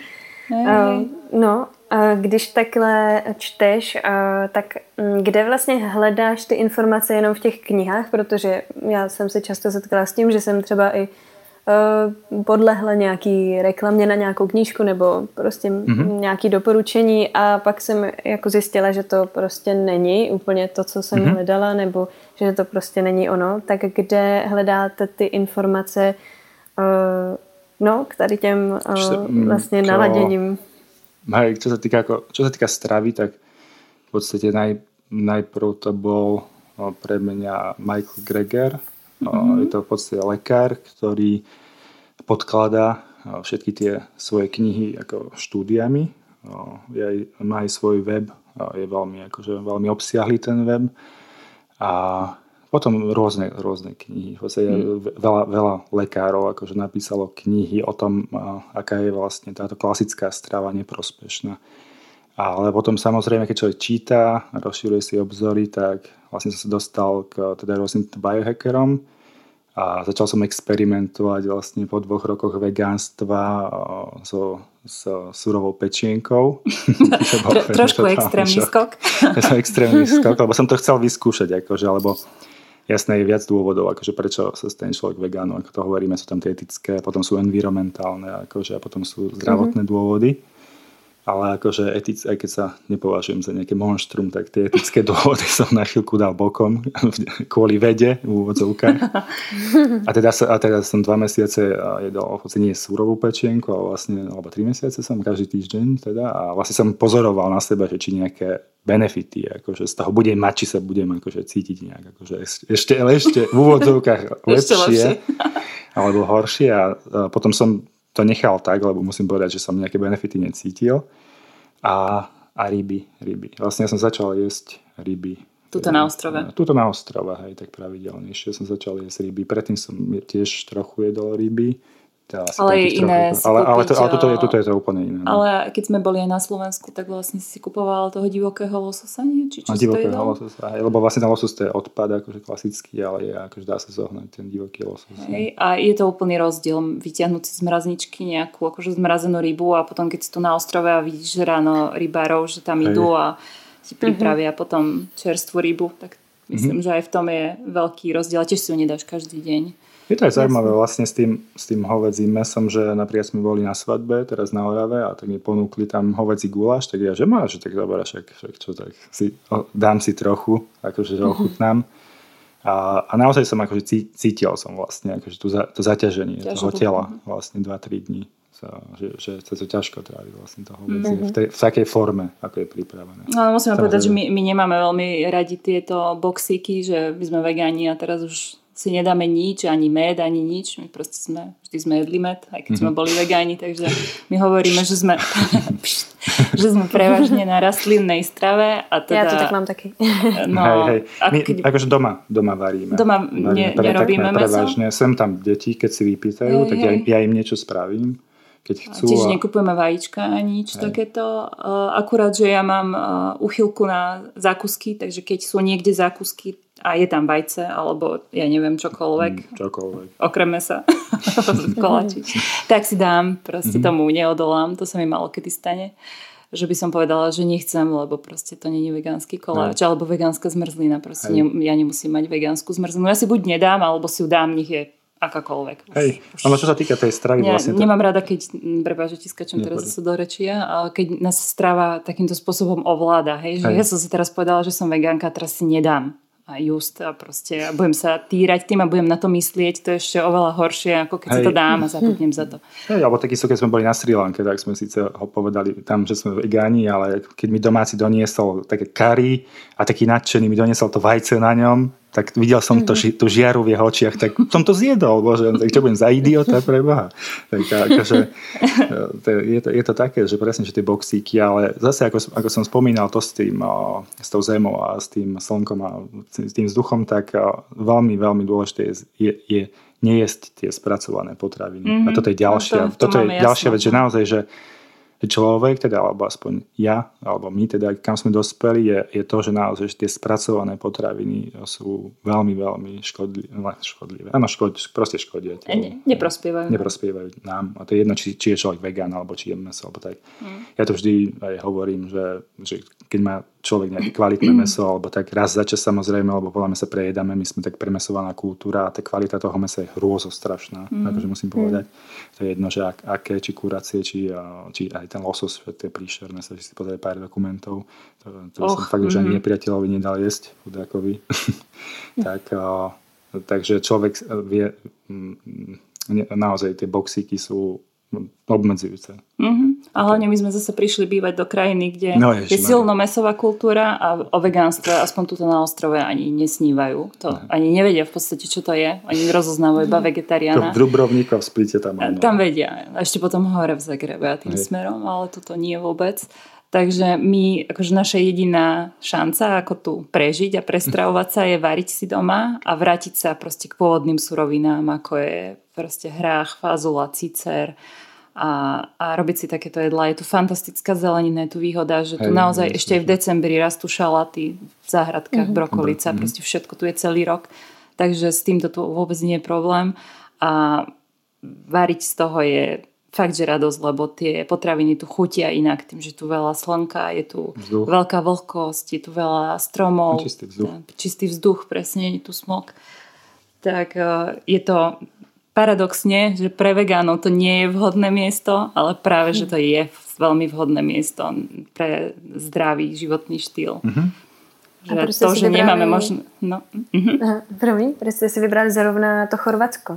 Když takhle čteš, tak kde vlastně hledáš ty informace jenom v těch knihách, protože já jsem se často setkala s tím, že jsem třeba i podlehla nějaký reklamě na nějakou knížku nebo prostě nějaký doporučení a pak jsem jako zjistila, že to prostě není úplně to, co jsem hledala, nebo že to prostě není ono. Tak kde hledáte ty informace k tady těm vlastně naladěním? Hej, čo sa týka stravy, tak v podstate najprv to bol pre mňa Michael Greger. Je to v podstate lekár, ktorý podkladá všetky tie svoje knihy ako štúdiami. Má aj svoj web, je veľmi obsiahlý ten web. A potom rôzne knihy. V podstate veľa lekárov akože napísalo knihy o tom, aká je vlastne táto klasická strava neprospešná. Ale potom samozrejme, keď človek číta, rozširuje si obzory, tak vlastne som sa dostal k teda rôznym biohackerom a začal som experimentovať vlastne po 2 rokoch vegánstva s surovou pečienkou. Trošku extrémny skok. Extrémny skok, lebo som to chcel vyskúšať, akože, alebo jasné je viac dôvodov, akože prečo sa stane človek vegánom, ako to hovoríme, sú tam tie etické, potom sú environmentálne, akože, a potom sú zdravotné dôvody. Ale akože aj keď sa nepovažujem za nejaké monštrum, tak tie etické dôvody som na chvíľku dal bokom kvôli vede v úvodzovkách. A teda som 2 mesiace jedol nie surovú pečienku, ale vlastne, alebo 3 mesiace som každý týždeň teda, a vlastne som pozoroval na seba, že či nejaké benefity, akože z toho budem mať, či sa budem akože cítiť nejak akože ešte v úvodzovkách lepšie alebo horšie, a potom som to nechal tak, lebo musím povedať, že som nejaké benefity necítil. A ryby. Vlastne ja som začal jesť ryby. Tuto na ostrove. Tuto na ostrove, hej, tak pravidelnejšie som začal jesť ryby. Predtým som tiež trochu jedol ryby. Ale je iné si kúpiť. Ale tuto je to úplne iné. No. Ale keď sme boli aj na Slovensku, tak vlastne si kupoval toho divokého lososa, nie? Či čo si to jedol? Lososa, lebo vlastne ten losos to je odpad, akože klasický, ale akože dá sa zohnať ten divoký losos. Hej, a je to úplný rozdiel vyťahnuť si z mrazničky nejakú akože zmrazenú rybu a potom keď si tu na ostrove a vidíš ráno rybárov, že tam idú a si pripravia potom čerstvú rybu, tak myslím, že aj v tom je veľký rozdiel. A tiež si ho nedáš každý deň. Je to aj zaujímavé vlastne s tým hovedzím mesom, že napríklad sme boli na svadbe, teraz na Orave a tak mi ponúkli tam hovedzí guláš, tak ja, že máš, že tak dobré, však čo, tak dám si trochu, akože ochutnám. A naozaj som akože cítil som vlastne akože to zaťaženie toho tela vlastne 2-3 dní. Že sa to ťažko trávi vlastne to hovedzie v takej forme, ako je pripravené. No, musíme povedať, že my nemáme veľmi radi tieto boxíky, že my sme vegáni a teraz už si nedáme nič, ani med, ani nič. My proste vždy sme jedli med, aj keď sme boli vegáni, takže my hovoríme, že sme prevažne na rastlinnej strave. A teda, ja to tak mám taky. No, hej. My akože doma varíme. Doma nerobíme meso. Prevažne. Sem tam deti, keď si vypýtajú, tak ja im niečo spravím. Keď chcú. Čiže nekupujeme vajíčka ani nič takéto. Akurát, že ja mám úchylku na zákusky, takže keď sú niekde zákusky a je tam vajce, alebo ja neviem, čokoľvek. Okrem mesa. Koláči. Tak si dám, proste tomu neodolám. To sa mi malo kedy stane. Že by som povedala, že nechcem, lebo proste to nie je vegánsky koláč, alebo vegánska zmrzlina. Proste ja nemusím mať vegánsku zmrzlinu. Ja si buď nedám, alebo si ju dám, nech je akákoľvek. Hej, ale čo sa týka tej stravy vlastne... Nemám rada, keď, prepáč, že ti skačem teraz zase do rečia, ale keď nás strava takýmto spôsobom ovláda, hej, že ja som si teraz povedala, že som vegánka, teraz si nedám a proste a budem sa týrať tým a budem na to myslieť, to je ešte oveľa horšie, ako keď si to dám a zabudnem za to. Hej, alebo takisto, keď sme boli na Sri Lanke, tak sme síce ho povedali tam, že sme vegáni, ale keď mi domáci doniesol také curry a taký nadšený mi doniesol to vajce na ňom, tak videl som tú žiaru v jeho očiach, tak som to zjedol, bože, tak čo budem za idiota pre Boha. Tak akože, je to také, že presne, že tie boxíky, ale zase, ako som spomínal to s tou zemou a s tým slnkom a s tým vzduchom, tak veľmi, veľmi dôležité je nejesť tie spracované potraviny. A toto je ďalšia vec, že naozaj, že človek, teda, alebo aspoň ja, alebo my, teda, kam sme dospeli, je to, že naozaj tie spracované potraviny sú veľmi, veľmi škodlivé. Áno, proste škodia. Neprospievajú nám. A to je jedno, či je človek vegán, alebo či je meso, alebo tak. Ja to vždy aj hovorím, že keď má človek nejaké kvalitné meso, alebo tak raz za čas samozrejme, alebo podľa mňa sa prejedame, my sme tak premesovaná kultúra a tá kvalita toho mesa je hrôzostrašná, akože musím povedať. To je jedno, že aké, či kuracie, či aj ten losos, to je príšerné, sa si pozrieť pár dokumentov. To som fakt už ani nepriateľovi nedal jesť, chudákovi. Takže človek vie, naozaj tie boxíky sú obmedzujúce. A hlavne my sme zase prišli bývať do krajiny, kde je silno mäsová kultúra a o vegánstve aspoň tuto na ostrove ani nesnívajú. To ani nevedia v podstate, čo to je. Oni rozoznávajú iba vegetariána. V Dubrovníku v Splite tam. Tam vedia. A ešte potom hore v Zagrebe a tým smerom, ale tuto nie vôbec. Takže my, akože naša jediná šanca, ako tu prežiť a prestravovať sa, je variť si doma a vrátiť sa proste k pôvodným surovinám, ako je proste hrách, fazula, cicer a robiť si takéto jedlá. Je tu fantastická zelenina, je tu výhoda, že tu naozaj ešte aj v decembri rastú šalaty v záhradkách, brokolica, proste všetko tu je celý rok. Takže s týmto tu vôbec nie je problém. A variť z toho je fakt, že radosť, lebo tie potraviny tu chutia inak, tým, že tu veľa slnka, je tu veľká vlhkosť, je tu veľa stromov, čistý vzduch, presne, je tu smog. Tak je to paradoxne, že pre vegánov to nie je vhodné miesto, ale práve, že to je veľmi vhodné miesto pre zdravý životný štýl. Že to, že nemáme možno... Promiň, proč ste si vybrali zrovna to Chorvatsko?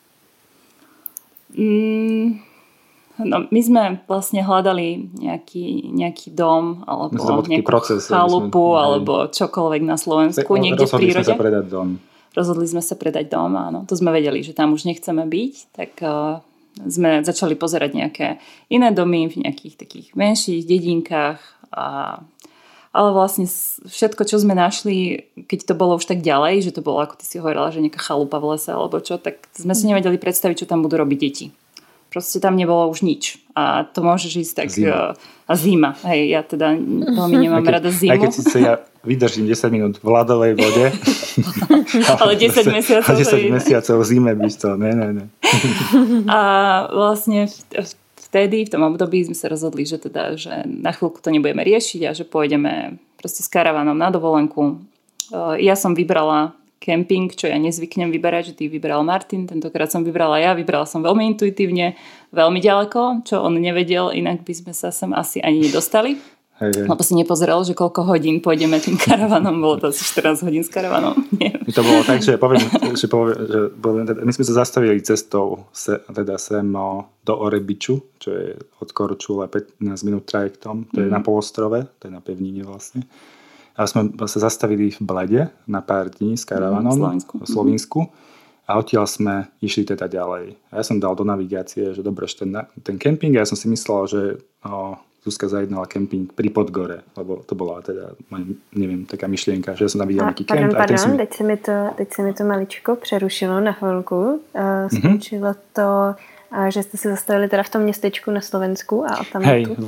No, my sme vlastne hľadali nejaký dom alebo nejakú chalupu alebo čokoľvek na Slovensku, niekde v prírode. Rozhodli sme sa predať dom, áno. To sme vedeli, že tam už nechceme byť, tak sme začali pozerať nejaké iné domy v nejakých takých menších dedinkách. Ale vlastne všetko, čo sme našli, keď to bolo už tak ďalej, že to bolo, ako ty si hovorila, že nejaká chalupa v lese alebo čo, tak sme si nevedeli predstaviť, čo tam budú robiť deti. Proste tam nebolo už nič. A to môžeš ísť tak... Zima. Hej, ja teda veľmi nemám rada zimu. Aj keď si ja vydržím 10 minút v ľadovej vode. Ale 10 mesiacov. 10 mesiacov v zime byť to. Ne. A vlastne vtedy, v tom období sme sa rozhodli, že na chvíľku to nebudeme riešiť a že pôjdeme proste s karavanom na dovolenku. Ja som vybrala kemping, čo ja nezvyknem vyberať, že ty vybral Martin, tentokrát som vybrala ja, vybrala som veľmi intuitívne, veľmi ďaleko, čo on nevedel, inak by sme sa sem asi ani nedostali. Hej. Lebo si nepozeral, že koľko hodín pôjdeme tým karavanom, bolo to asi 14 hodín s karavanom. Nie. To bolo tak, že my sme sa zastavili cestou teda sem do Orebiču, čo je od Korčule 15 minút trajektom, to je na polostrove, to je na pevnine vlastne. A sme sa zastavili v Blede na pár dní s karavanom v Slovinsku a odtiaľ sme išli teda ďalej. A ja som dal do navigácie, že dobre, že ten kemping, ja som si myslel, že Zuzka zajednala kemping pri Podgore, lebo to bola teda, neviem, taká myšlienka, že ja som tam videl nejaký kemp. Pardon, teď se mi to maličko přerušilo na chvilku. Skončilo to, že jste se zastavili teda v tom městečku na Slovensku a tam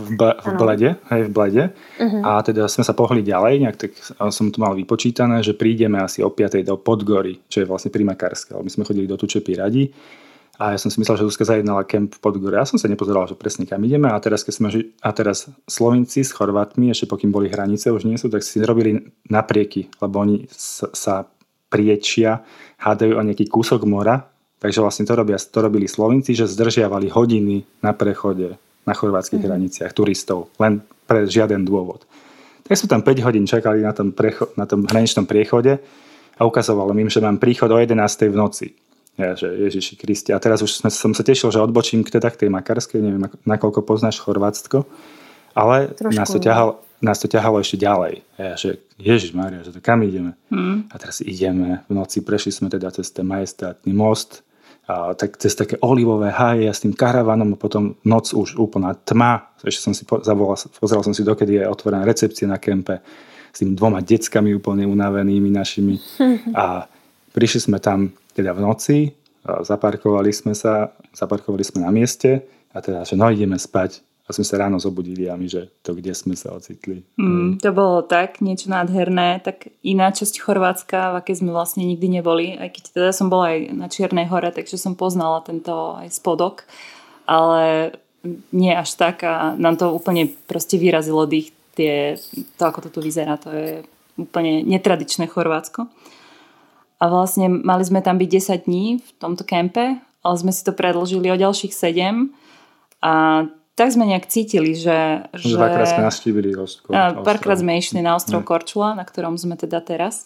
v Blede. A teda sme sa pohli ďalej, nejak tak som tu mal vypočítané, že prídeme asi o 5. do Podgory, čo je vlastne pri Makarske. My sme chodili do Tučepy radi. A ja som si myslel, že Zuzka zajednala kemp v Podgore. Ja som sa nepozeral, že presne kam ideme. A teraz Slovinci s Chorvátmi, ešte pokým boli hranice, už nie sú, tak si robili naprieky, lebo oni sa priečia, hádajú o nejaký kúsok mora. Takže vlastne to robili Slovinci, že zdržiavali hodiny na prechode na chorvátskych hraniciach turistov. Len pre žiaden dôvod. Tak sme tam 5 hodín čakali na tom hraničnom priechode a ukazovalo im, že mám príchod o 11. v noci. Ja, že Ježiši Kriste. A teraz už som sa tešil, že odbočím k tej Makarskej, neviem, nakoľko poznáš Chorvátsko, ale nás to ťahalo ešte ďalej. Ja, že Ježišmária, že to kam ideme? A teraz ideme v noci, prešli sme teda cez ten majestátny most, a tak cez také olivové háje a s tým karavanom a potom noc už úplná tma. Ešte som si pozeral som si, dokedy je otvorená recepcia na kempe s tým 2 deckami úplne unavenými našimi. A prišli sme tam teda v noci, zaparkovali sme na mieste a teda, že ideme spať a sme sa ráno zobudili a my, že to kde sme sa ocitli. To bolo tak, niečo nádherné, tak iná časť Chorvátska, v akej sme vlastne nikdy neboli, aj keď teda som bola aj na Čiernej hore, takže som poznala tento aj spodok, ale nie až tak a nám to úplne proste vyrazilo dých, to ako to tu vyzerá, to je úplne netradičné Chorvátsko. A vlastne mali sme tam byť 10 dní v tomto kempe, ale sme si to predĺžili o ďalších 7 a tak sme nejak cítili, že dvakrát sme navštívili párkrát sme išli na ostrov Korčula, na ktorom sme teda teraz.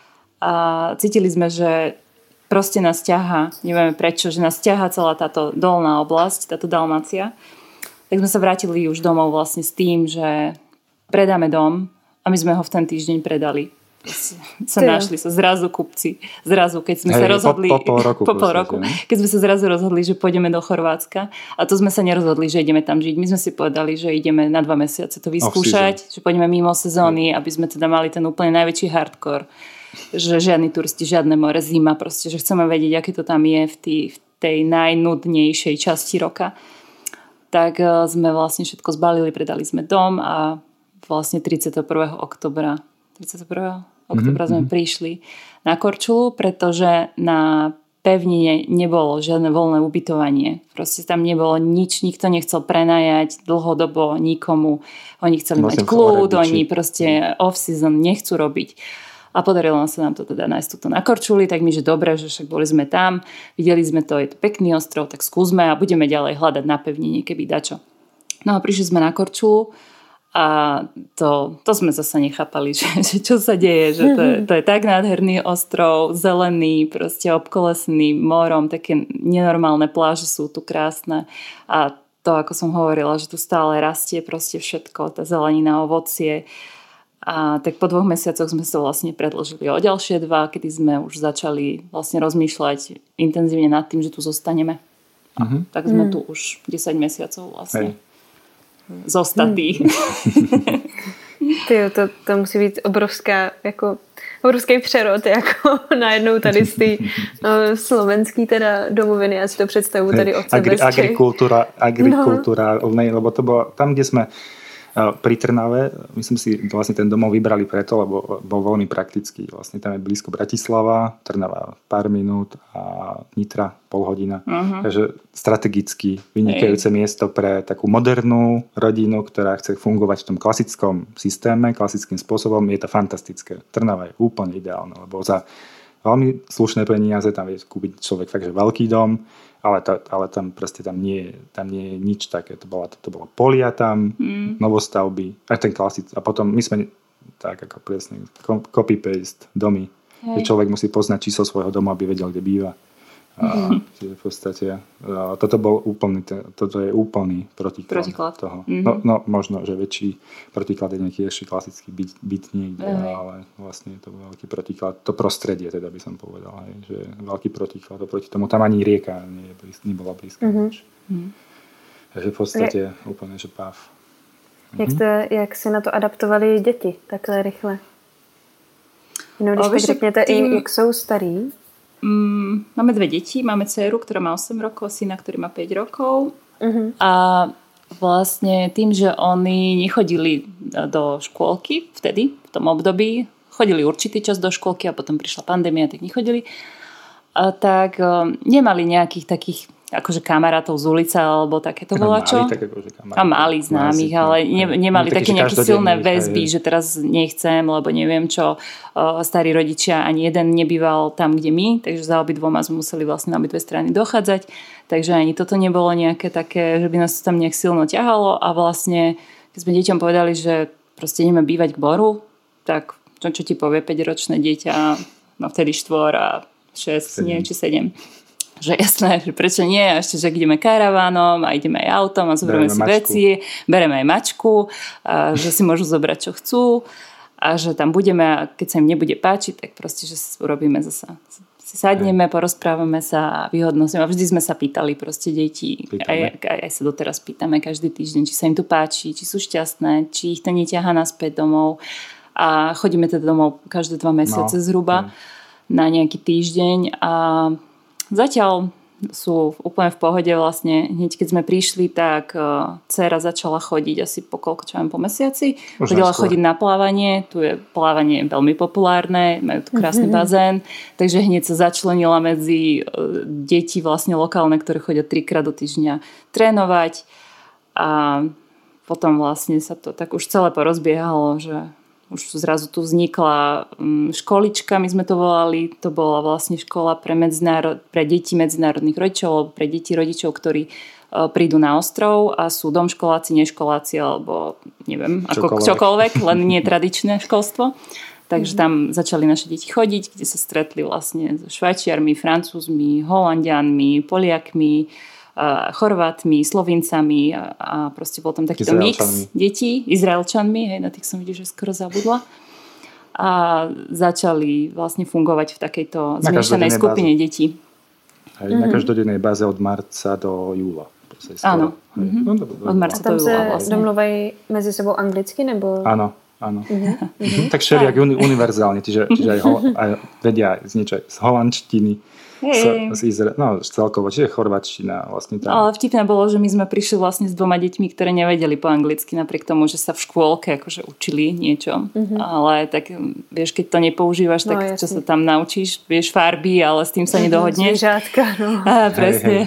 A cítili sme, že proste nás ťahá, nevieme prečo, že nás ťahá celá táto dolná oblasť, táto Dalmácia. Tak sme sa vrátili už domov vlastne s tým, že predáme dom a my sme ho v ten týždeň predali. Našli sa zrazu kupci. Zrazu, keď sme sa rozhodli po pol roku, keď sme sa zrazu rozhodli, že pôjdeme do Chorvátska a to sme sa nerozhodli, že ideme tam žiť. My sme si povedali, že ideme na 2 mesiace to vyskúšať, že pôjdeme mimo sezóny, aby sme teda mali ten úplne najväčší hardcore, že žiadni turisti, žiadne more, zima proste, že chceme vedieť, aké to tam je v tej najnudnejšej časti roka. Tak sme vlastne všetko zbalili, predali sme dom a vlastne 31. oktobra sme prišli na Korčulu, pretože na pevnine nebolo žiadne voľné ubytovanie. Proste tam nebolo nič, nikto nechcel prenajať dlhodobo nikomu. Oni chceli mať kľud, oni proste off-season nechcú robiť. A podarilo sa nám to teda nájsť tuto na Korčuli, tak my, že dobre, že však boli sme tam, videli sme to, je to pekný ostrov, tak skúsme a budeme ďalej hľadať na pevnine, keby dačo. No a prišli sme na Korčulu. A to sme zase nechápali, že čo sa deje, že to je tak nádherný ostrov, zelený, proste obkolesný morom, také nenormálne pláže sú tu krásne a to, ako som hovorila, že tu stále rastie proste všetko, tá zelenina, ovocie a tak po 2 mesiacoch sme sa vlastne predĺžili o ďalšie 2, kedy sme už začali vlastne rozmýšľať intenzívne nad tým, že tu zostaneme. A tak sme tu už 10 mesiacov vlastne. Zostatý. To musí být obrovský přerod, jako najednou tady z té slovenský teda domoviny, já si to představuji tady od sebe. Agrikultúra, lebo to bolo tam, kde sme pri Trnave, myslím si, vlastne ten domov vybrali preto, lebo bol veľmi praktický. Vlastne tam je blízko Bratislava, Trnava pár minút a Nitra pol hodina. Takže strategicky vynikajúce miesto pre takú modernú rodinu, ktorá chce fungovať v tom klasickom systéme, klasickým spôsobom. Je to fantastické. Trnava je úplne ideálna, lebo za veľmi slušné peniaze, tam vie kúpiť človek fakt, že veľký dom, ale tam proste tam nie je nič také. To bolo polia tam, novostavby, aj ten klasický. A potom my sme tak ako presne copy-paste domy. Že človek musí poznať číslo svojho domu, aby vedel, kde býva. Čiže v podstate toto je úplný protiklad toho. No možno, že väčší protiklad je nejaký ešte klasický byt niekde, ale vlastne je to veľký protiklad. To prostredie teda by som povedal, že veľký protiklad oproti tomu. Tam ani rieka nebola blízka. Takže v podstate úplne, že páv. Jak se na to adaptovali děti takhle rychle? No, když tak řekněte, jak jsou starý. Máme 2 deti. Máme dceru, ktorá má 8 rokov, syna, ktorý má 5 rokov. A vlastne tým, že oni nechodili do škôlky vtedy, v tom období, chodili určitý čas do škôlky a potom prišla pandémia, tak nechodili, tak nemali nejakých takých akože kamarátov z ulice alebo takéto volačo. A mali známych, ale nemali také nejaké silné väzby, že teraz nechcem, lebo neviem čo. Starí rodičia ani jeden nebýval tam, kde my, takže za obidvoma sme museli vlastne na obidve strany dochádzať. Takže ani toto nebolo nejaké také, že by nás to tam nejak silno ťahalo a vlastne, keď sme deťom povedali, že proste ideme bývať k Boru, tak čo ti povie 5-ročné dieťa, no vtedy 4 a 6, neviem, či 7. Že jasné, že prečo nie, a ešte, že ideme karavánom a ideme aj autom a zoberieme si veci, bereme aj mačku, a že si môžu zobrať, čo chcú a že tam budeme a keď sa im nebude páčiť, tak proste, že urobíme zasa. Si sadneme, porozprávame sa a vyhodnostíme. A vždy sme sa pýtali proste deti, aj sa doteraz pýtame každý týždeň, či sa im tu páči, či sú šťastné, či ich to neťahá naspäť domov. A chodíme teda domov každé 2 mesiace zhruba na nejaký týždeň a zatiaľ sú úplne v pohode vlastne. Hneď keď sme prišli, tak dcéra začala chodiť asi po mesiaci. Chodila chodiť na plávanie. Tu je plávanie veľmi populárne, majú tu krásny bazén. Takže hneď sa začlenila medzi deti vlastne lokálne, ktoré chodia 3-krát do týždňa trénovať. A potom vlastne sa to tak už celé porozbiehalo, že už zrazu tu vznikla školička, my sme to volali, to bola vlastne škola pre deti medzinárodných rodičov, pre deti rodičov, ktorí prídu na ostrov a sú domškoláci, neškoláci alebo neviem, čokoľvek, len nie tradičné školstvo. Takže tam začali naše deti chodiť, kde sa stretli vlastne so Švajčiarmi, Francúzmi, Holandianmi, Poliakmi, Chorvátmi, Slovincami a proste bol tam takýto mix detí, Izraelčanmi, na tých som videla, že skoro zabudla. A začali vlastne fungovať v takejto zmiešanej skupine detí. Na každodennej báze od marca do júla. Áno. Od marca do júla vlastne. Domluvajú medzi sebou anglicky, nebo? Áno. Tak všelijak univerzálne, čiže aj vedia niečo z holandštiny, celkovo, čiže chorváčtina vlastne tam. Ale vtipné bolo, že my sme prišli vlastne s 2 deťmi, ktoré nevedeli po anglicky, napriek tomu, že sa v škôlke akože učili niečo. Ale tak vieš, keď to nepoužívaš, tak čo sa tam naučíš, vieš farby, ale s tým sa nedohodneš. Zviežátka, no. Presne.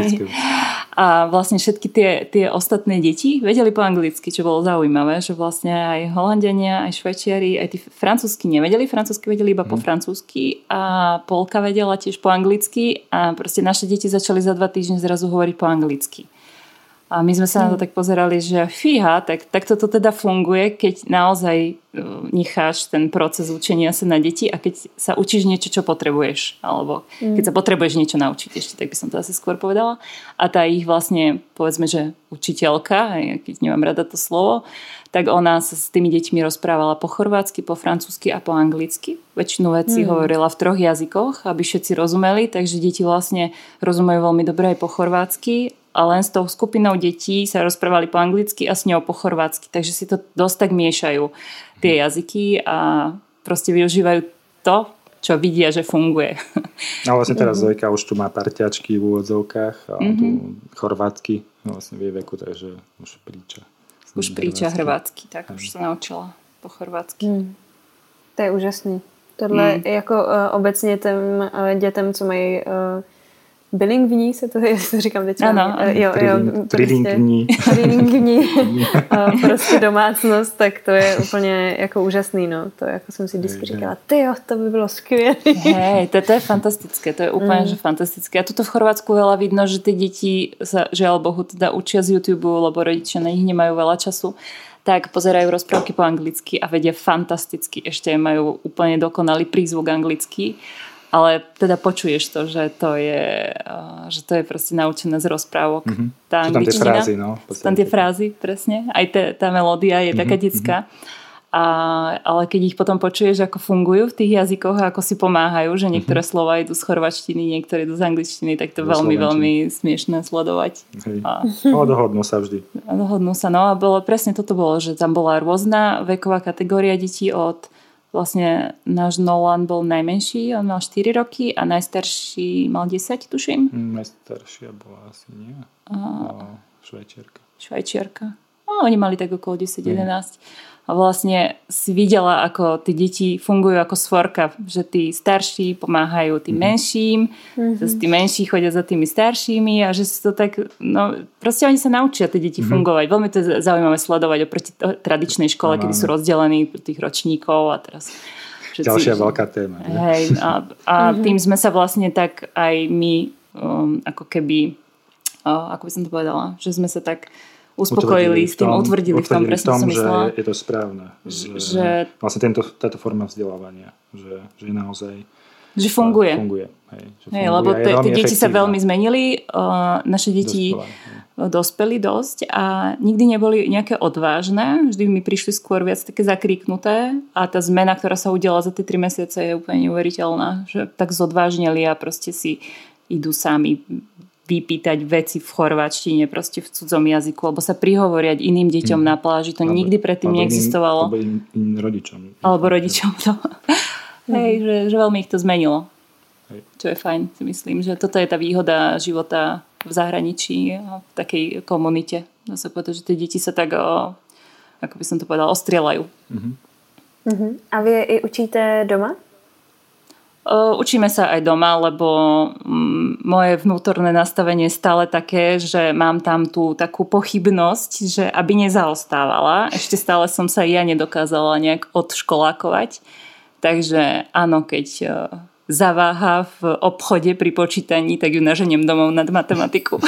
A vlastne všetky tie ostatné deti vedeli po anglicky, čo bolo zaujímavé, že vlastne aj Holandiania, aj Švajčiari, aj tí francúzsky nevedeli, francúzsky vedeli iba po francúzsky a Polka vedela tiež po anglicky a proste naše deti začali za 2 týždne zrazu hovoriť po anglicky. A my sme sa na to tak pozerali, že fíha, tak toto teda funguje, keď naozaj necháš ten proces učenia sa na deti a keď sa učíš niečo, čo potrebuješ. Alebo keď sa potrebuješ niečo naučiť ešte, tak by som to asi skôr povedala. A tá ich vlastne, povedzme, že učiteľka, keď nemám rada to slovo, tak ona sa s tými deťmi rozprávala po chorvátsky, po francúzsky a po anglicky. Väčšinu vecí hovorila v 3 jazykoch, aby všetci rozumeli, takže deti vlastne rozumejú veľmi dobre aj po chorvátsky a len s tou skupinou detí sa rozprávali po anglicky a s ňou po chorvátsky. Takže si to dosť tak miešajú tie jazyky a proste využívajú to, čo vidia, že funguje. A vlastne teraz Zojka už tu má parťačky v úvodzovkách a tu chorvátsky vlastne vie veku, takže už príča. Už príča hrvátsky, tak už sa naučila po chorvátsky. To je úžasný. Tohle jako obecně těm dětem, co mají bilingvní se to, jestli to říkám teď. Ano. Trilingvní. Prostě domácnost, tak to je úplně jako úžasný, no. To jako jsem si vždycky říkala, tyjo, to by bylo skvělé. Hej, to je fantastické, to je úplne že fantastické. A tuto v Chorvátsku veľa vidno, že tie deti sa, žiaľ Bohu, teda učia z YouTube, lebo rodičia na nich nemajú veľa času, tak pozerajú rozprávky po anglicky a vedia fantasticky, ešte majú úplne dokonalý prízvuk anglický. Ale teda počuješ to, že to je proste naučené z rozprávok. Tá angličtina. Sú tam tie frázy, no. Sú tam tie frázy, presne. Aj tá melódia je taká detská. Ale keď ich potom počuješ, ako fungujú v tých jazykoch a ako si pomáhajú, že niektoré slova idú z chorvačtiny, niektoré idú z angličtiny, tak to veľmi, veľmi smiešné sledovať. Ale dohodnú sa vždy. Dohodnú sa, no a presne toto bolo, že tam bola rôzna veková kategória detí od vlastne náš Nolan bol najmenší, on mal 4 roky a najstarší mal 10, tuším. Najstaršia bola asi nie. Švajčiarka. No, oni mali tak okolo 10-11. A vlastne si videla, ako tí deti fungujú ako svorka, že tí starší pomáhajú tým menším, tí menší chodia za tými staršími a že si to tak, no proste oni sa naučia tie deti fungovať. Veľmi to je zaujímavé sledovať oproti tradičnej škole, kedy sú rozdelení tých ročníkov a teraz všetci, ďalšia veľká téma. Hej, a tým sme sa vlastne tak aj my ako keby, ako by som to povedala, že sme sa tak uspokojili s tým, utvrdili v tom, presne som myslela. Že je to správne. Že vlastne táto forma vzdelávania, že je naozaj že funguje. Hej, lebo tie deti sa veľmi zmenili. Naše deti dospeli dosť a nikdy neboli nejaké odvážne. Vždy mi prišli skôr viac také zakríknuté a tá zmena, ktorá sa udiala za tie 3 mesiace je úplne neuveriteľná. Že tak zodvážnili a proste si idú sami vypýtať veci v chorváčtine, proste v cudzom jazyku, alebo sa prihovoriať iným deťom na pláži. To nikdy predtým neexistovalo. Alebo iným rodičom. Alebo rodičom. Hej, že veľmi ich to zmenilo. Hej. Čo je fajn, si myslím, že toto je tá výhoda života v zahraničí a v takej komunite. Dá sa povedať, že tie deti sa tak, ako by som to povedala, ostrielajú. A vy je i učíte doma? Učíme sa aj doma, lebo moje vnútorné nastavenie je stále také, že mám tam tú takú pochybnosť, že aby nezaostávala. Ešte stále som sa ja nedokázala nejak odškolákovať. Takže áno, keď zaváha v obchode pri počítaní, tak ju naženiem domov nad matematiku.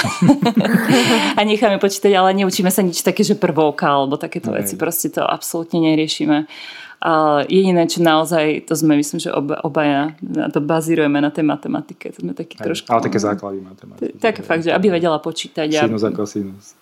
A necháme počítať, ale neučíme sa nič také, že prvovka alebo takéto veci. Proste to absolútne neriešime. A jediné, čo naozaj, to sme, myslím, že obaja to bazírujeme na tej matematike. To sme taký trošku... Ale také základy matematiky. Také fakt, že aby vedela počítať. Sinus a kosinus.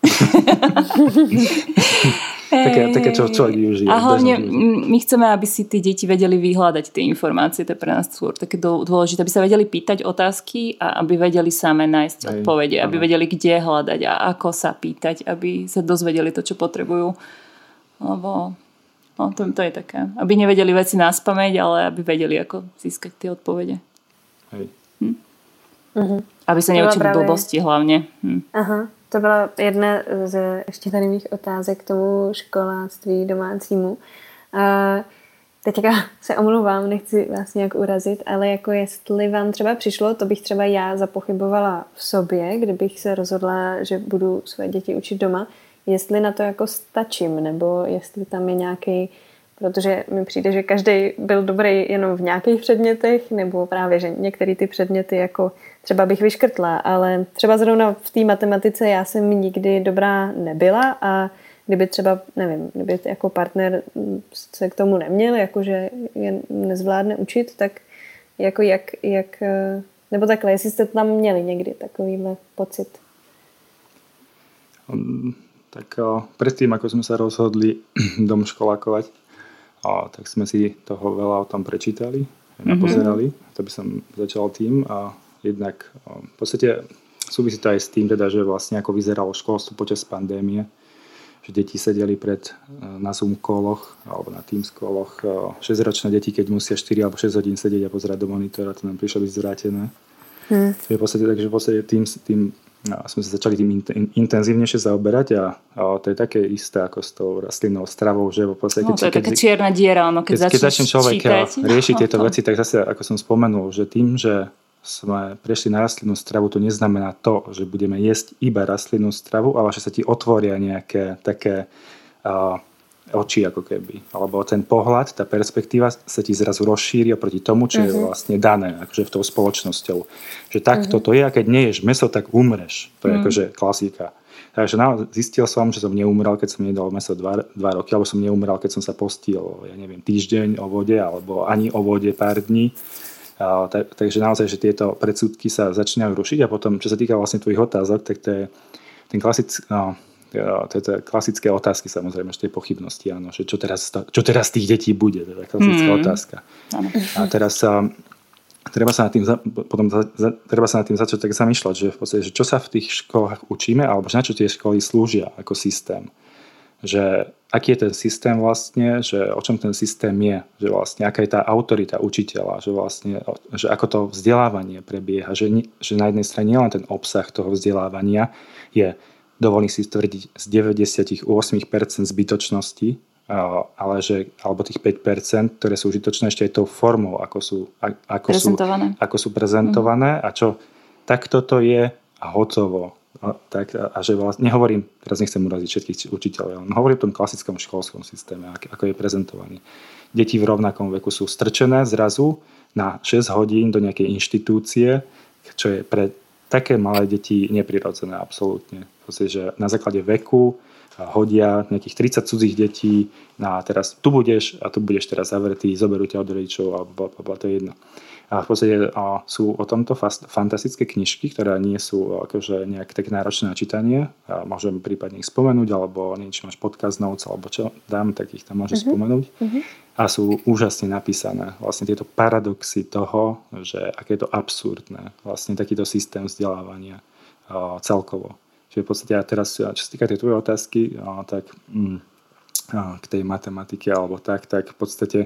Také, čo človek využije. A hlavne my chceme, aby si tí deti vedeli vyhľadať tie informácie. To je pre nás také dôležité. Aby sa vedeli pýtať otázky a aby vedeli same nájsť odpovede. Aby vedeli, kde hľadať a ako sa pýtať. Aby sa dozvedeli to, čo potrebujú. Lebo... No, to je také. Aby nevedeli veci naspamäť, ale aby vedeli, ako získať tie odpovede. Hej. Aby sa neučili blbosti hlavně. Aha, to byla jedna z ještě tady mých otázek k tomu školáctví domácímu. Teďka se omlouvám, nechci vás nějak urazit, ale jako jestli vám třeba přišlo, to bych třeba já zapochybovala v sobě, kdybych se rozhodla, že budu své děti učit doma, jestli na to jako stačím, nebo jestli tam je nějaký, protože mi přijde, že každý byl dobrý jenom v nějakých předmětech, nebo právě, že některé ty předměty jako třeba bych vyškrtla, ale třeba zrovna v té matematice já jsem nikdy dobrá nebyla a kdyby třeba, nevím, kdyby jako partner se k tomu neměl, jakože je nezvládne učit, tak jako jak nebo takhle, jestli jste tam měli někdy takovýhle pocit. Tak predtým, ako sme sa rozhodli dom školákovať, tak sme si toho veľa o tom prečítali, napozerali. To by som začal tým. A jednak v podstate súvisí to aj s tým, teda, že vlastne ako vyzeralo školstvo počas pandémie, že deti sedeli na Zoom koloch alebo na Teams koloch. 6-ročné deti, keď musia 4 alebo 6 hodín sedieť a pozerať do monitora, to nám prišlo byť zvrátené. Je v podstate, takže v podstate tým sme sa začali tým intenzívnejšie zaoberať a to je také isté ako s tou rastlinnou stravou, že v podstate... to je taká čierna diera, keď začne človek riešiť tieto veci, tak zase, ako som spomenul, že tým, že sme prešli na rastlinnú stravu, to neznamená to, že budeme jesť iba rastlinnú stravu, ale že sa ti otvoria nejaké také oči ako keby. Alebo ten pohľad, tá perspektíva sa ti zrazu rozšíri oproti tomu, čo je vlastne dané akože v tou spoločnosťou. Že takto to je, a keď neješ mäso, tak umreš. To je akože klasika. Takže zistil som, že som neumrel, keď som jedol mäso 2 roky, alebo som neumrel, keď som sa postil, ja neviem, týždeň o vode, alebo ani o vode pár dní. Takže naozaj, že tieto predsudky sa začínajú rušiť, a potom, čo sa týka vlastne tvojich otázok, tak to je ten klasické otázky, samozrejme, že tie pochybnosti, áno, že čo teraz tých detí bude, to je klasická otázka. A teraz treba sa nad tým začať tak zamýšľať, že v podstate, že čo sa v tých školách učíme, alebo na čo tie školy slúžia ako systém. Že aký je ten systém vlastne, že o čom ten systém je, že vlastne aká je tá autorita učiteľa, že vlastne, že ako to vzdelávanie prebieha, že na jednej strane nie len ten obsah toho vzdelávania je, dovolím si tvrdiť, z 98% zbytočnosti, alebo tých 5%, ktoré sú užitočné, ešte aj tou formou, ako sú prezentované a čo takto to je a hotovo. A že vlastne, nehovorím, teraz nechcem uraziť všetkých učiteľov, ale hovorím o tom klasickom školskom systéme, ako je prezentovaný. Deti v rovnakom veku sú strčené zrazu na 6 hodín do nejakej inštitúcie, čo je pre také malé deti neprirodzené absolútne. Proste, že na základe veku hodia nejakých 30 cudzích detí na teraz tu budeš teraz zavretý, zoberú ťa od rodičov a to je jedno. A v podstate sú o tomto fantastické knižky, ktoré nie sú akože nejak tak náročné na čítanie. A môžem prípadne ich spomenúť, alebo niečo máš podcast notes, alebo čo dám, tak ich tam môžeš spomenúť. A sú úžasne napísané. Vlastne tieto paradoxy toho, že aké je to absurdné. Vlastne takýto systém vzdelávania celkovo. Čiže v podstate ja teraz, čo sa týka tej tvojej otázky, tak k tej matematike alebo tak v podstate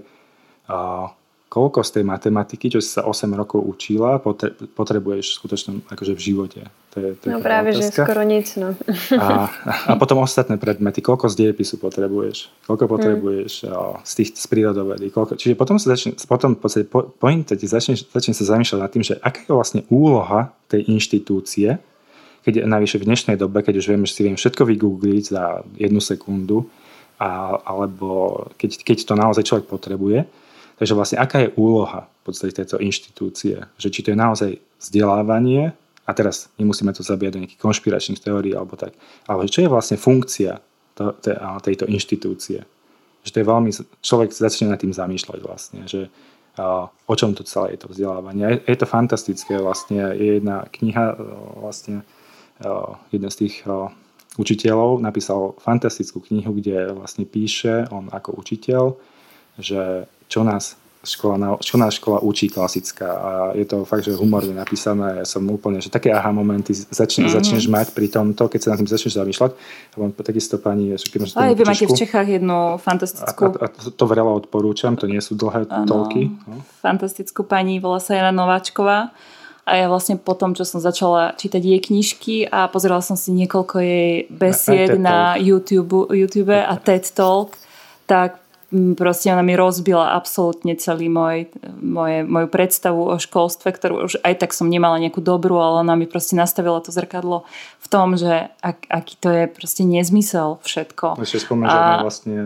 koľko z tej matematiky, čo si sa 8 rokov učila, potrebuješ skutočne akože v živote. To je práve, otázka. Že skoro nic. No. A potom ostatné predmety, koľko z dejepisu potrebuješ, koľko potrebuješ z prírodovedy. Čiže potom v podstate začne sa zamýšľať nad tým, že aká je vlastne úloha tej inštitúcie, keď navyše v dnešnej dobe, keď už vieme, že si viem všetko vygoogliť za 1 sekundu, alebo keď to naozaj človek potrebuje. Takže vlastne aká je úloha v podstate tejto inštitúcie? Že či to je naozaj vzdelávanie, a teraz nemusíme to zabíjať do nejakých konšpiračných teórií alebo tak, ale čo je vlastne funkcia tejto inštitúcie? Že to je veľmi, človek začne nad tým zamýšľať vlastne, že o čom to celé je to vzdelávanie. Je to fantastické vlastne, je jedna kniha vlastne, jeden z tých učiteľov napísal fantastickú knihu, kde vlastne píše on ako učiteľ, že čo nás škola učí klasická, a je to fakt, že humorne napísané. Ja som úplne, že také aha momenty začneš mať pri tomto, keď sa nad tým začneš zamýšľať. A mám takisto pani... Aj vy máte v Čechách jednu fantastickú... A to veľa odporúčam, to nie sú dlhé toľky. No. Fantastickú pani, volá sa Jana Nováčková. A ja vlastne potom, čo som začala čítať jej knižky a pozerala som si niekoľko jej besied na YouTube a TED Talk, tak proste ona mi rozbila absolútne celý moju predstavu o školstve, ktorú už aj tak som nemala nejakú dobrú, ale ona mi proste nastavila to zrkadlo v tom, že aký to je proste nezmysel všetko. Ešte spomínam, že ona vlastne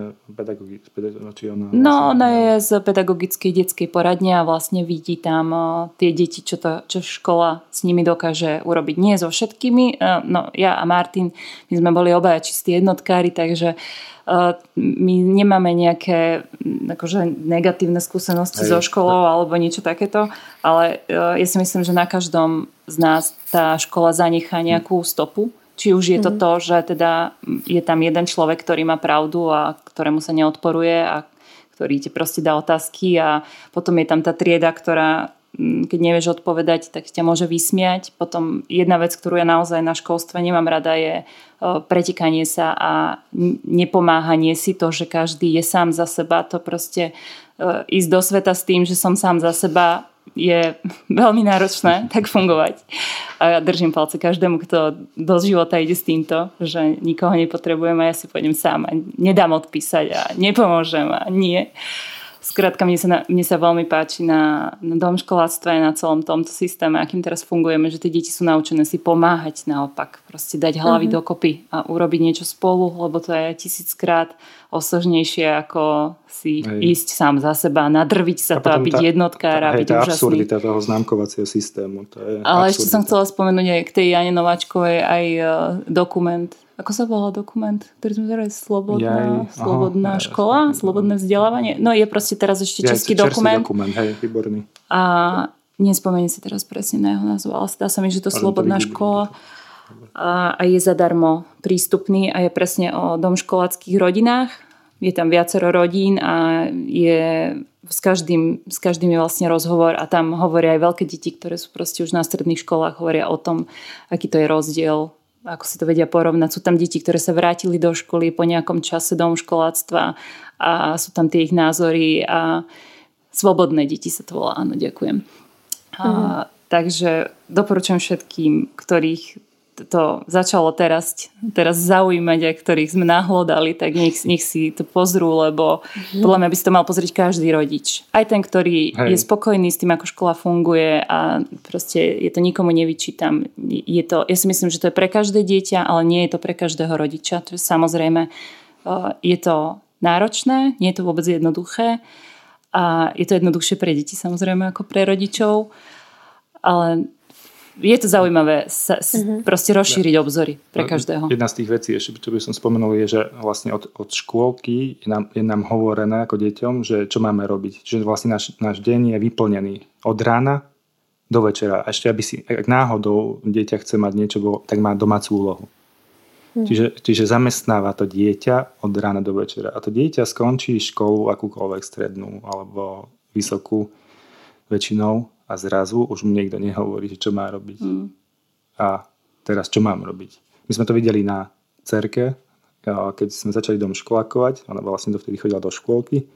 ona je z pedagogickej detskej poradne a vlastne vidí tam tie deti, čo škola s nimi dokáže urobiť. Nie so všetkými. No, ja a Martin, my sme boli obaja čistí jednotkári, takže my nemáme nejaké akože negatívne skúsenosti so školou alebo niečo takéto, ale ja si myslím, že na každom z nás tá škola zanechá nejakú stopu. Či už je to to, že teda je tam jeden človek, ktorý má pravdu a ktorému sa neodporuje a ktorý ti proste dá otázky, a potom je tam tá trieda, ktorá keď nevieš odpovedať, tak ťa môže vysmiať. Potom jedna vec, ktorú ja naozaj na školstve nemám rada, je pretekanie sa a nepomáhanie si, to, že každý je sám za seba. To proste ísť do sveta s tým, že som sám za seba, je veľmi náročné tak fungovať. A ja držím palce každému, kto do života ide s týmto, že nikoho nepotrebujem a ja si pôjdem sám a nedám odpísať a nepomôžem a nie. Skrátka, mne sa veľmi páči na domškoláctve a na celom tomto systéme, akým teraz fungujeme, že tie deti sú naučené si pomáhať naopak. Proste dať hlavy dokopy a urobiť niečo spolu, lebo to je 1000-krát osožnejšie, ako si ísť sám za seba, nadrviť sa to a byť jednotkár a byť úžasný. Tá absurdita toho známkovacieho systému. To je ale absurdita. Ešte som chcela spomenúť aj k tej Jane Nováčkovej aj dokument. Ako sa volá dokument, ktorý sme zrali? Slobodná škola? Slobodné vzdelávanie? No je proste teraz ešte český dokument. Hej, výborný. A nespomeniem si teraz presne na jeho názvu, ale zdá sa mi, že to Slobodná škola a je zadarmo prístupný a je presne o domškoláckých rodinách. Je tam viacero rodín a je s každým je vlastne rozhovor a tam hovoria aj veľké deti, ktoré sú proste už na stredných školách, hovoria o tom, aký to je rozdiel, ako si to vedia porovnať. Sú tam deti, ktoré sa vrátili do školy po nejakom čase domškoláctva a sú tam tie ich názory a slobodné deti sa to volá. Áno, ďakujem. Takže doporučujem všetkým, ktorých to začalo teraz zaujímať a ktorých sme nahlodali, tak nech si to pozrú, lebo podľa mňa by si to mal pozrieť každý rodič. Aj ten, ktorý je spokojný s tým, ako škola funguje a proste je to nikomu nevyčítam. Ja si myslím, že to je pre každé dieťa, ale nie je to pre každého rodiča. To je samozrejme, je to náročné, nie je to vôbec jednoduché a je to jednoduchšie pre deti samozrejme ako pre rodičov, ale je to zaujímavé proste rozšíriť obzory pre každého. Jedna z tých vecí, ešte čo by som spomenul, je, že vlastne od škôlky je nám hovorené ako deťom, že čo máme robiť. Že vlastne náš deň je vyplnený od rána do večera. A ešte, aby si, ak náhodou dieťa chce mať niečo, tak má domácu úlohu. Čiže zamestnáva to dieťa od rána do večera. A to dieťa skončí školu akúkoľvek strednú alebo vysokú väčšinou a zrazu už mu niekto nehovorí, že čo má robiť. A teraz čo mám robiť? My sme to videli na dcerke, keď sme začali domškolákovať. Ona vlastne dovtedy chodila do škôlky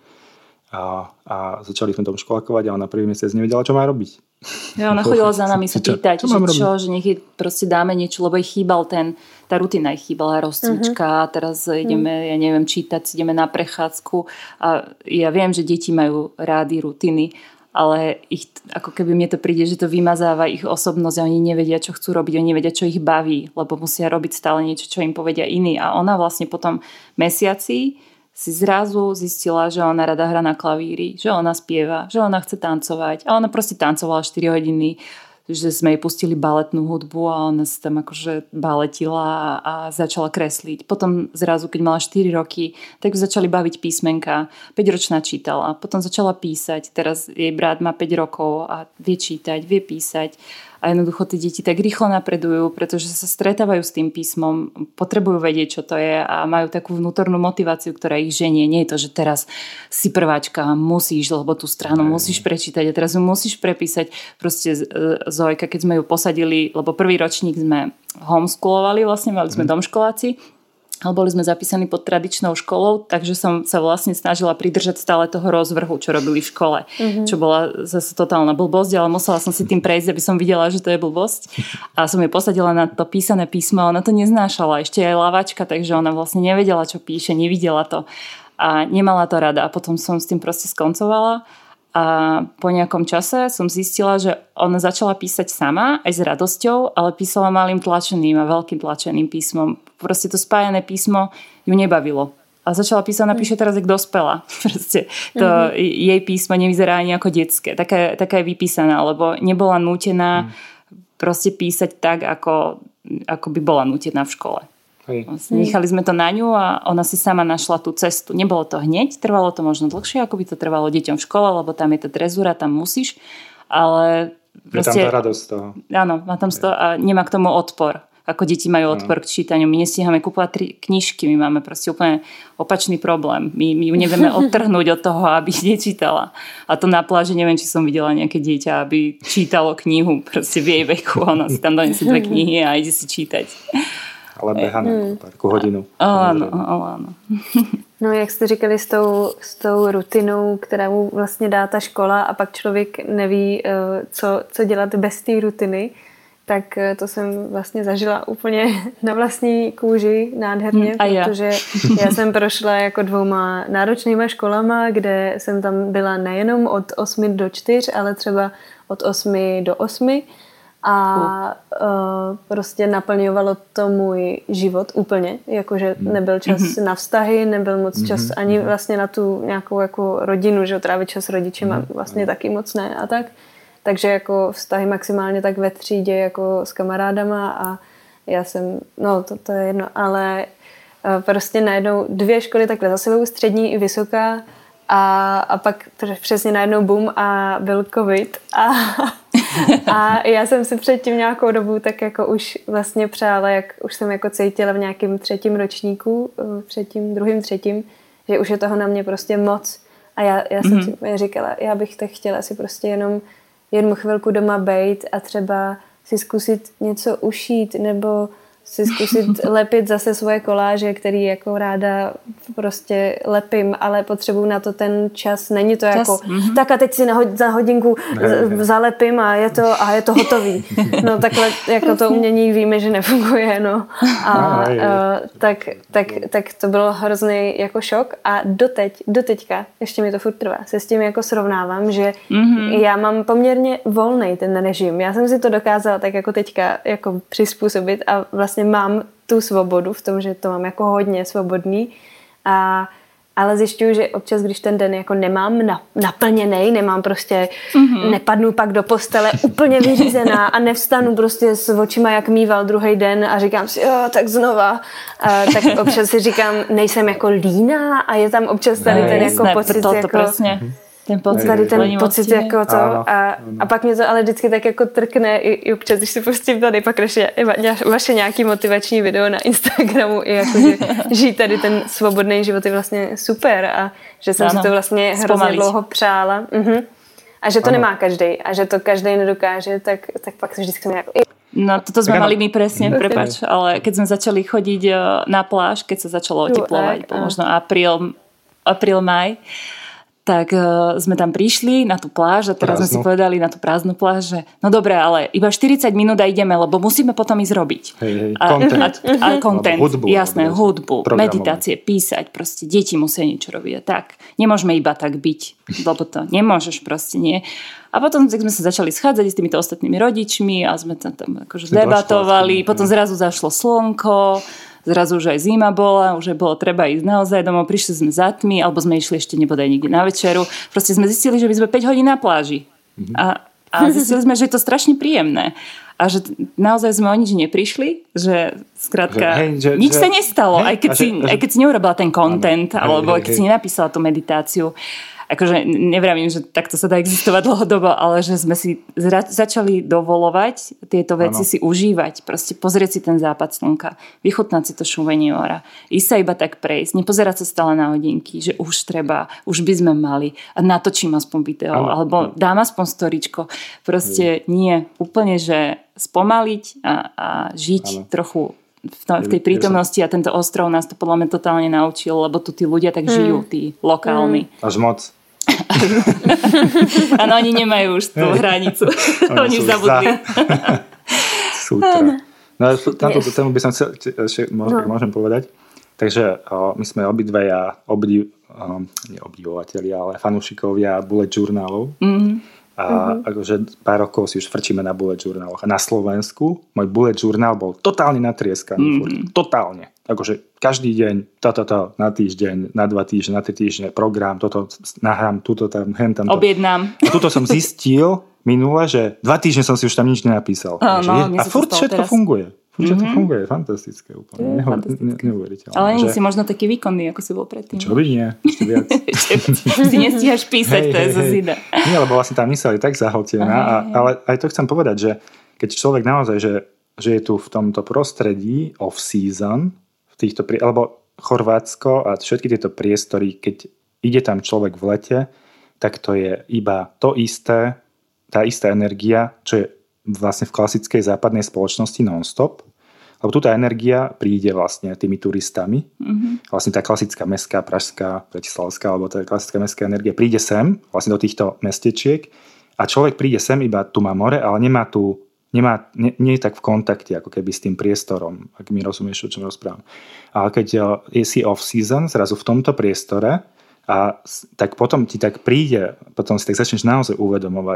a začali sme domškolákovať a ona prvý mesiac nevedela, čo má robiť. Ja, ona chodila za nami sa pýtať, že nech jej proste dáme niečo, lebo jej chýbal tá rutina, jej chýbala rozcvička, teraz ideme, ja neviem, čítať, ideme na prechádzku a ja viem, že deti majú rády rutiny, ale ako keby mne to príde, že to vymazáva ich osobnosť a oni nevedia, čo chcú robiť, oni nevedia, čo ich baví, lebo musia robiť stále niečo, čo im povedia iní. A ona vlastne po tom mesiaci si zrazu zistila, že ona rada hrá na klavíri, že ona spieva, že ona chce tancovať. A ona proste tancovala 4 hodiny, že sme jej pustili baletnú hudbu a ona sa tam akože baletila a začala kresliť. Potom zrazu, keď mala 4 roky, tak začali baviť písmenka. 5-ročná čítala, potom začala písať. Teraz jej brat má 5 rokov a vie čítať, vie písať. A jednoducho tí deti tak rýchlo napredujú, pretože sa stretávajú s tým písmom, potrebujú vedieť, čo to je a majú takú vnútornú motiváciu, ktorá ich ženie. Nie je to, že teraz si prváčka, musíš, lebo tú stranu musíš prečítať a teraz ju musíš prepísať. Proste Zojka, keď sme ju posadili, lebo prvý ročník sme homeschoolovali, vlastne mali sme domškoláci, ale boli sme zapísaní pod tradičnou školou, takže som sa vlastne snažila pridržať stále toho rozvrhu, čo robili v škole. Čo bola zase totálna blbosť, ale musela som si tým prejsť, aby som videla, že to je blbosť. A som jej posadila na to písané písmo a ona to neznášala. Ešte aj lavačka, takže ona vlastne nevedela, čo píše, nevidela to. A nemala to rada. A potom som s tým proste skoncovala. A po nejakom čase som zistila, že ona začala písať sama, aj s radosťou, ale písala malým tlačeným a veľkým tlačeným písmom. Proste to spájané písmo ju nebavilo. A začala písať, napíše teraz jak dospela. Proste to jej písmo nevyzerá ani ako detské. Taká je vypísaná, lebo nebola nútená proste písať tak, ako by bola nútená v škole. Nechali sme to na ňu a ona si sama našla tú cestu. Nebolo to hneď, trvalo to možno dlhšie, ako by to trvalo deťom v škole, lebo tam je tá drezúra, tam musíš, ale proste... Je tam tá radosť toho. Áno, má tam to a nemá k tomu odpor. Ako deti majú odpor k čítaniu. My nestíhame kúpovať 3 knižky, my máme proste úplne opačný problém. My ju nevieme odtrhnúť od toho, aby nečítala. A to na pláži, neviem, či som videla nejaké dieťa, aby čítalo knihu proste v jej veku. Ona si tam donesie 2 knihy a ide si čítať. Ale beha na parku hodinu. Áno. No, jak jste říkali s tou rutinou, která mu vlastně dá ta škola a pak člověk neví, co dělat bez té rutiny. tak to jsem vlastně zažila úplně na vlastní kůži nádherně, protože já jsem prošla jako 2 náročnýma školama, kde jsem tam byla nejenom od 8 do 4, ale třeba od 8 do 8 a prostě naplňovalo to můj život úplně, jakože nebyl čas na vztahy, nebyl moc čas ani vlastně na tu nějakou jako rodinu, že trávit čas s rodičema vlastně taky moc ne a tak. Takže jako vztahy maximálně tak ve třídě jako s kamarádama a já jsem, no to je jedno, ale prostě najednou 2 školy takhle za sebou, střední i vysoká a pak přesně najednou boom a byl covid a já jsem si předtím nějakou dobu tak jako už vlastně přála, jak už jsem jako cítila v nějakém 3. ročníku, 2., 3., že už je toho na mě prostě moc a já jsem si říkala, já bych tak chtěla si prostě jenom jednu chvilku doma bejt a třeba si zkusit něco ušít nebo si zkusit lepit zase svoje koláže, který jako ráda prostě lepím, ale potřebuju na to ten čas. Není to jako, tak a teď si za hodinku zalepím a je to hotový. No takhle jako to umění víme, že nefunguje, no. A tak to bylo hrozný jako šok a doteďka, ještě mi to furt trvá, se s tím jako srovnávám, že já mám poměrně volnej ten režim. Já jsem si to dokázala tak jako teďka jako přizpůsobit a vlastně mám tu svobodu v tom, že to mám jako hodně svobodný, ale zjišťuju, že občas, když ten den jako nemám naplněnej, nemám prostě, nepadnu pak do postele úplně vyřízená a nevstanu prostě s očima jak mýval druhý den a říkám si, jo, tak znova. Tak občas si říkám, nejsem jako líná a je tam občas tady ten jako pocit to jako... Presne. Ten pocit, tady ten pocit jako to a pak mě to ale vždycky tak jako trkne i občas, když si pustím tady pak vaše nějaký motivační video na Instagramu i jako, že žít tady ten svobodný život je vlastně super a že jsem si to vlastně hrozně dlouho přála a že to nemá každej a že to každej nedokáže, tak pak se vždycky jako... No toto sme mali my presne, prepáč, ale keď sme začali chodiť na pláž, keď sa začalo oteplovať, možno apríl, maj, tak sme tam prišli na tú pláž a teraz sme si povedali na tú prázdnu pláž, že no dobre, ale iba 40 minút a ideme, lebo musíme potom ísť robiť. Content, jasné, hudbu, meditácie, písať, proste deti musia niečo robiť. Tak, nemôžeme iba tak byť, lebo to nemôžeš proste, nie. A potom sme sa začali schádzať s týmito ostatnými rodičmi a sme tam akože debatovali, potom zrazu zašlo slnko, zrazu už aj zima bola, už bolo treba ísť naozaj domov, prišli sme za tmy, alebo sme išli ešte nebodaj niekde na večeru. Proste sme zistili, že by sme 5 hodín na pláži. A zistili sme, že je to strašne príjemné. A že naozaj sme o nič neprišli, že skrátka nič sa nestalo, aj keď si neurobila ten content, alebo keď si nenapísala tú meditáciu. Akože nevravím, že takto sa dá existovať dlhodobo, ale že sme si začali dovolovať tieto veci si užívať. Proste pozrieť si ten západ slnka, vychutnať si to šúvenie mora, ísť sa iba tak prejsť, nepozerať sa stále na hodinky, že už treba, už by sme mali a natočím aspoň video, alebo dám aspoň storičko. Proste nie, úplne, že spomaliť a žiť trochu v tej prítomnosti a tento ostrov nás to podľa mňa totálne naučil, lebo tu tí ľudia tak žijú, tí lokálni. Až moc. Áno, oni nemajú už tú hranicu. Oni už zabudli. Sútra. No na túto tému by som chcel, môžem povedať. Takže my sme obidvaja obdivovatelia, ale fanúšikovia bullet journálov. A akože pár rokov si už frčíme na bullet journáloch. A na Slovensku môj bullet journál bol totálne natrieskaný. Totálne. Akože každý deň, na týždeň, na 2 týždne, na 3 týždne, program, toto nahrám, tuto tam, hentam. Objednám. A tuto som zistil minule, že 2 týždne som si už tam nič nenapísal. A furt všetko funguje. Všetko funguje, fantastické úplne. Neuveriteľné. Ale nie si možno taký výkonný, ako si bol predtým. Čo by nie? Ešte viac. Si nestíhaš písať, to je zo zida. Nie, lebo vlastne tá myseľ je tak zahltená. Ale aj to chcem povedať, že keď človek naozaj, že je tu v tomto prostredí off-season, alebo Chorvátsko a všetky tieto priestory, keď ide tam človek v lete, tak to je iba to isté, tá istá energia, čo je vlastne v klasickej západnej spoločnosti non-stop. Lebo tu tá energia príde vlastne tými turistami. Vlastne tá klasická mestská, pražská, bratislavská, alebo tá klasická mestská energia príde sem, vlastne do týchto mestečiek a človek príde sem, iba tu má more, ale nemá tu nie je tak v kontakte ako keby s tým priestorom, ak mi rozumieš, o čom rozprávam. Ale keď si off-season, zrazu v tomto priestore, tak potom ti tak príde, potom si tak začneš naozaj uvedomovať,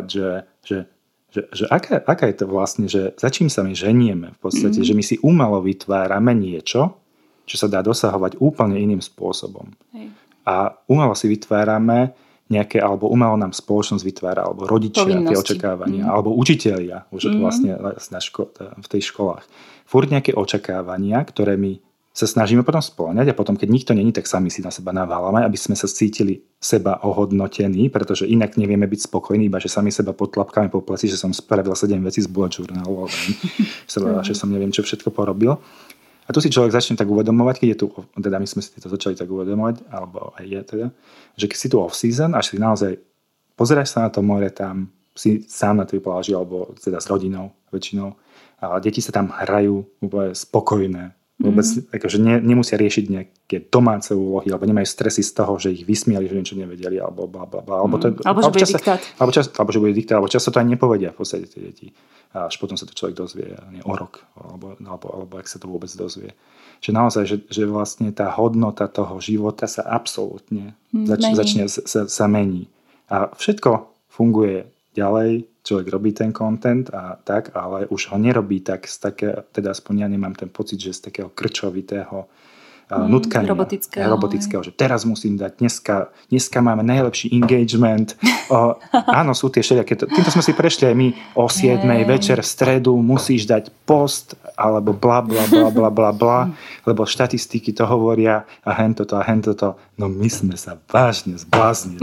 že aká je to vlastne, že za čím sa my ženieme v podstate, že my si umelo vytvárame niečo, čo sa dá dosahovať úplne iným spôsobom. Hej. A umelo si vytvárame nejaké, alebo umelo nám spoločnosť vytvára, alebo rodičia tie očakávania, alebo učitelia už vlastne v tej školách. Furt nejaké očakávania, ktoré my sa snažíme potom spĺňať a potom, keď nikto není, tak sami si na seba naválame, aby sme sa cítili seba ohodnotení, pretože inak nevieme byť spokojní, iba že sami seba potlapkáme po pleci, že som spravil 7 vecí z bullet journalu, že som neviem, čo všetko porobil. A tu si človek začne tak uvedomovať, keď je tu, teda my sme si to začali tak uvedomovať, alebo aj je teda, že keď si tu off-season, až si naozaj pozeráš sa na to more tam, si sám na tej pláži, alebo teda s rodinou väčšinou, a deti sa tam hrajú úplne spokojné. Vôbec akože nemusia riešiť nejaké domáce úlohy, alebo nemajú stresy z toho, že ich vysmiali, že niečo nevedeli, alebo blablabla. Alebo že bude diktát. Alebo že bude diktát, alebo často to aj nepovedia v podstate tie deti. A až potom sa to človek dozvie o rok, alebo ak sa to vôbec dozvie. Že naozaj, že vlastne tá hodnota toho života sa absolútne začne sa mení. A všetko funguje ďalej, človek robí ten content a tak, ale už ho nerobí tak z také, teda aspoň ja nemám ten pocit, že z takého krčovitého nutkania. Robotického, že teraz musím dať, dneska máme najlepší engagement. Áno, sú tie všelijaké, týmto sme si prešli aj my o 7 večer v stredu musíš dať post, alebo bla bla bla bla bla bla, lebo štatistiky to hovoria a hento to. No my sme sa vážne zbláznili.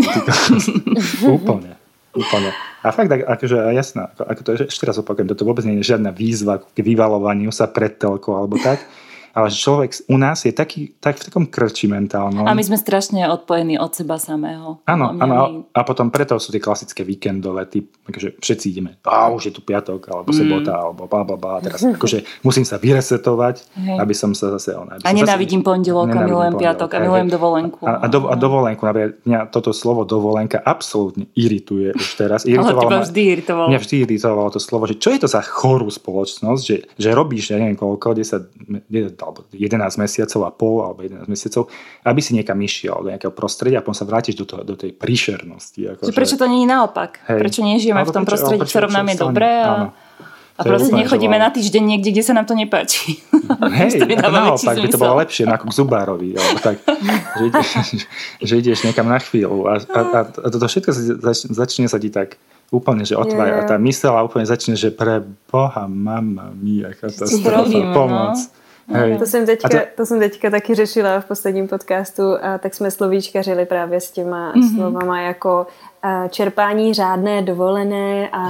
Úplne. A fakt, akože jasná, ako to je, ešte raz opakujem, toto vôbec nie je žiadna výzva k vyvalovaniu sa pred telkou alebo tak, ale človek u nás je tak v takom krči mentálnom. A my sme strašne odpojení od seba samého. Áno, a potom preto sú tie klasické víkendové typ, akože všetci ideme, už je tu piatok, alebo sobota, alebo blablabla, teraz akože musím sa vyresetovať, aby som sa zase... A nenávidím pondelok a milujem piatok a milujem dovolenku. A dovolenku, napríklad mňa toto slovo dovolenka absolútne irituje už teraz. Ale teba vždy iritovalo. Mňa vždy iritovalo to slovo, že čo je to za chorú spoločnosť, že robíš, ja neviem koľko, 10 alebo 11 mesiacov a pol, alebo 11 mesiacov, aby si niekam išiel do nejakého prostredia a potom sa vrátiš do tej príšernosti. Prečo to nie je naopak? Hej. Prečo nežijeme v tom prostredí, v ktorom nám je dobré a proste nechodíme na týždeň niekde, kde sa nám to nepáči. Hej, naopak by to bolo lepšie, ako k zubárovi. Alebo tak, že ideš niekam na chvíľu a toto všetko začne sa ti tak úplne, že otvára tá myseľ a úplne začne, že pre Boha, mama mia, katastrofa, pomoc. Hej. To jsem teďka taky řešila v posledním podcastu a tak jsme slovíčkařili právě s těma slovama jako čerpání řádné, dovolené a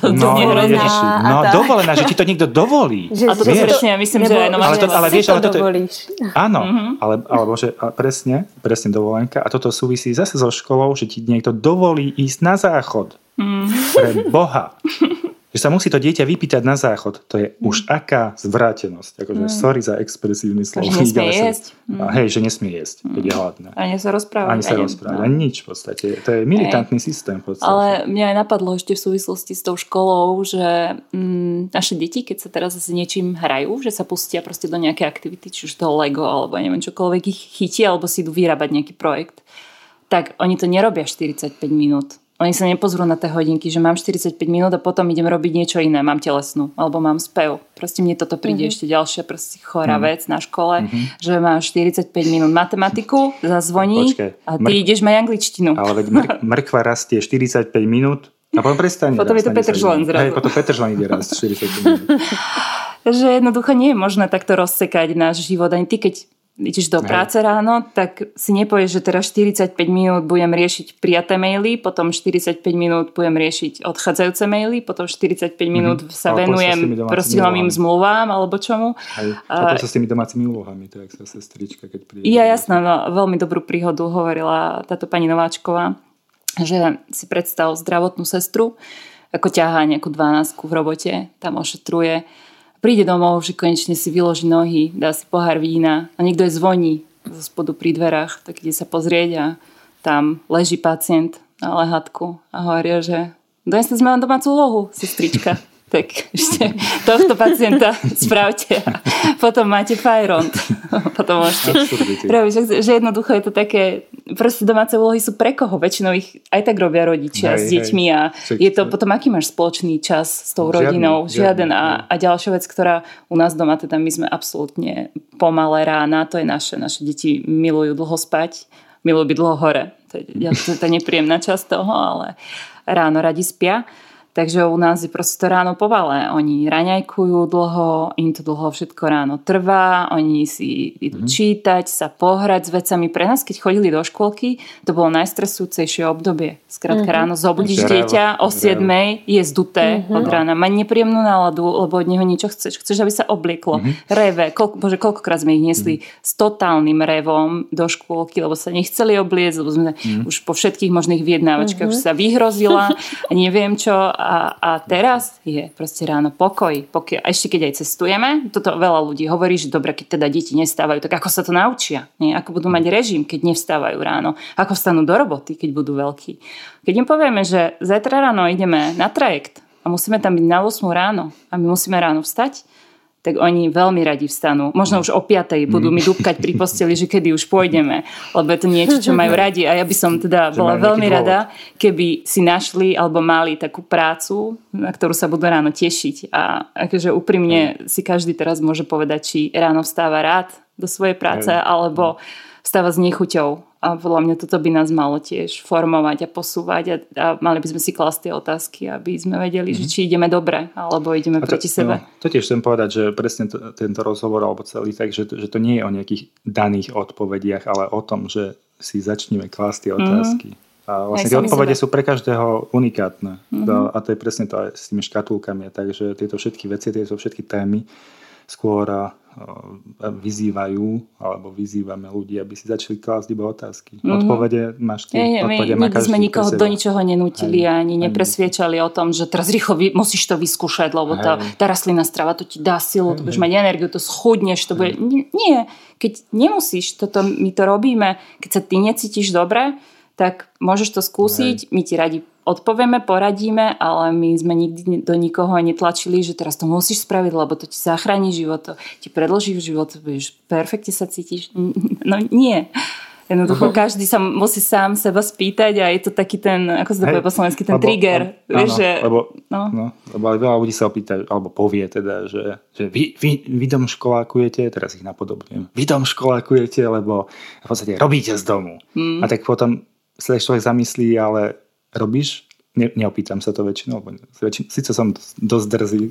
dovolená, že ti to niekto dovolí. A toto presne, ja myslím, že aj ale vieš, ale toto dovolíš. Áno, alebo že presne dovolenka a toto súvisí zase so školou, že ti niekto dovolí ísť na záchod. Pre Boha. Že sa musí to dieťa vypýtať na záchod. To je už aká zvrátenosť. Akože sorry za expresívny slovo. Že nesmie jesť. Hej, že nesmie jesť, keď je hladné. Ani sa rozprávať. Ani nič v podstate. To je militantný systém. V podstate. Ale mňa aj napadlo ešte v súvislosti s tou školou, že naše deti, keď sa teraz s niečím hrajú, že sa pustia proste do nejakej aktivity, či už toho Lego, alebo neviem čokoľvek ich chytí, alebo si idú vyrábať nejaký projekt, tak oni to nerobia 45 minút. Oni sa nepozrú na tie hodinky, že mám 45 minút a potom idem robiť niečo iné. Mám telesnú, alebo mám spev. Proste mne toto príde ešte ďalšia proste chorá vec na škole, že mám 45 minút matematiku, zazvoní a ty ideš mať angličtinu. Ale veď mrkva rastie 45 minút a potom prestane. Potom je to petržlen zrazu. Potom petržlen ide rast 45 minút. Že jednoducho nie je možné takto rozsekať náš život. Ani ty, keď ideš do práce ráno, tak si nepovieš, že teraz 45 minút budem riešiť prijaté maily, potom 45 minút budem riešiť odchádzajúce maily, potom 45 minút sa venujem proste novým zmluvám alebo čomu. Potom sa s tými domácimi úlohami, tak sa sestrička, keď príde. Ja jasná, veľmi dobrú príhodu hovorila táto pani Nováčková, že si predstav zdravotnú sestru, ako ťahá nejakú 12 v robote, tam ošetruje. Príde domov, že konečne si vyloží nohy, dá si pohár vína a niekto je zvoní zo spodu pri dverách, tak ide sa pozrieť a tam leží pacient na lehatku a hovoria, že donesli sme vám domácu úlohu, sestrička. tak ešte tohto pacienta spravte a potom máte fajront. Potom môžete robiť, že jednoducho je to také, proste domáce úlohy sú pre koho? Väčšinou ich aj tak robia rodičia s deťmi a je to potom, aký máš spoločný čas s tou rodinou? Žiaden. A ďalšia vec, ktorá u nás doma, teda my sme absolútne pomalé rána, to je naše deti milujú dlho spať, milujú byť dlho hore. To je nepríjemná časť toho, ale ráno radi spia. Takže u nás je proste to ráno pomalé. Oni raňajkujú dlho, im to dlho všetko ráno trvá, oni si idú čítať, sa pohrať s vecami. Pre nás, keď chodili do škôlky, to bolo najstresujúcejšie obdobie. Skrátka ráno zobudíš dieťa o 7:00, je zduté od rána, má nepríjemnú náladu, lebo od neho niečo chceš, aby sa oblieklo. Reve, koľkokrát sme ich niesli s totálnym revom do škôlky, lebo sa nechceli obliecť, lebo sme už po všetkých možných vyjednávačkách už sa vyhrozila a neviem čo. A teraz je proste ráno pokoj. A ešte keď aj cestujeme, toto veľa ľudí hovorí, že dobre, keď teda deti nestávajú, tak ako sa to naučia? Nie? Ako budú mať režim, keď nevstávajú ráno? Ako vstanú do roboty, keď budú veľkí? Keď im povieme, že zajtra ráno ideme na trajekt a musíme tam byť na 8 ráno a my musíme ráno vstať, tak oni veľmi radi vstanú. Možno už o 5:00 budú mi dúbkať pri posteli, že kedy už pôjdeme, lebo je to niečo, čo majú radi. A ja by som teda bola veľmi rada, keby si našli alebo mali takú prácu, na ktorú sa budú ráno tešiť. A akože úprimne si každý teraz môže povedať, či ráno vstáva rád do svojej práce, alebo vstáva s nechuťou. A podľa mňa toto by nás malo tiež formovať a posúvať a mali by sme si klásť tie otázky, aby sme vedeli, že či ideme dobre, alebo ideme proti sebe. To tiež chcem povedať, že presne tento rozhovor alebo celý tak, že to nie je o nejakých daných odpovediach, ale o tom, že si začneme klásť tie otázky. A vlastne tie odpovede sú pre každého unikátne. A to je presne to aj s tými škatulkami. Takže tieto všetky veci, tieto všetky témy skôr vyzývajú alebo vyzývame ľudí, aby si začali klásť iba otázky. Odpovede máš ty. My sme nikoho do ničoho nenútili ani nepresviečali o tom, že teraz rýchlo musíš to vyskúšať, lebo tá rastlinná strava to ti dá silu, to budeš mať energiu, to schudneš, to bude... Nie, keď nemusíš, my to robíme, keď sa ty necítiš dobre, tak môžeš to skúsiť, my ti radi odpovieme, poradíme, ale my sme nikdy do nikoho netlačili, že teraz to musíš spraviť, lebo to ti zachráni život, to ti predĺží život, budeš perfektne sa cítiš. No nie. Jednoducho každý sa musí sám seba spýtať a je to taký ten, ako sa to povie po slovensky, ten trigger. Lebo veľa ľudí sa opýta, alebo povie teda, že vy domškolákujete, teraz ich napodobňujem, vy domškolákujete, lebo v podstate robíte z domu. A tak potom sa človek zamyslí, ale robíš? Neopýtam sa to väčšinou, síce som dosť drzý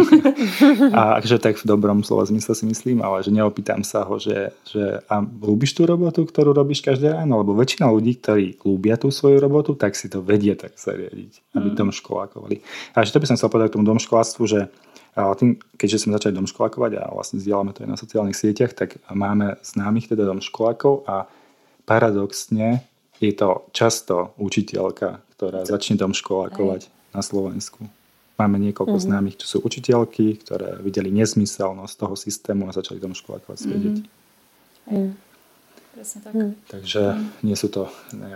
a že tak v dobrom slova zmysle si myslím, ale že neopýtam sa ho, že a ľúbiš tú robotu, ktorú robíš každé ráno, lebo väčšina ľudí, ktorí ľúbia tú svoju robotu, tak si to vedie tak zariadiť, aby domškolákovali. A že to by som chcel povedať k tomu domškoláctvu, že tým, keďže sme začali domškolákovať a vlastne zdieľame to aj na sociálnych sieťach, tak máme známych teda domškolákov a paradoxne je to často učiteľka, ktorá začne domškolákovať na Slovensku. Máme niekoľko známych, čo sú učiteľky, ktoré videli nezmyselnosť toho systému a začali domškolákovať svoje deti. Presne tak. Takže nie sú to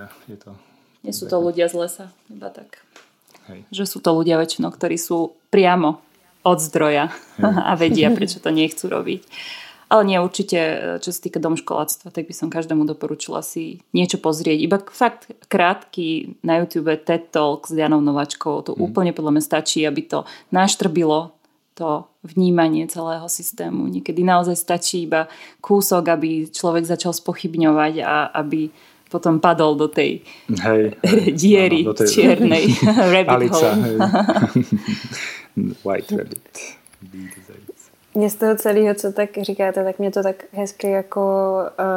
ľudia z lesa, iba tak. Že sú to ľudia väčšinou, ktorí sú priamo od zdroja a vedia, prečo to nechcú robiť. Ale nie, určite, čo sa týka domškoláctva, tak by som každému doporučila si niečo pozrieť. Iba fakt krátky na YouTube TED Talk s Janou Nováčkou. To úplne podľa mňa stačí, aby to naštrbilo to vnímanie celého systému. Niekedy naozaj stačí iba kúsok, aby človek začal spochybňovať a aby potom padol do tej diery čiernej rabbit hole. White rabbit. Mě z toho celého, co tak říkáte, tak mě to tak hezky jako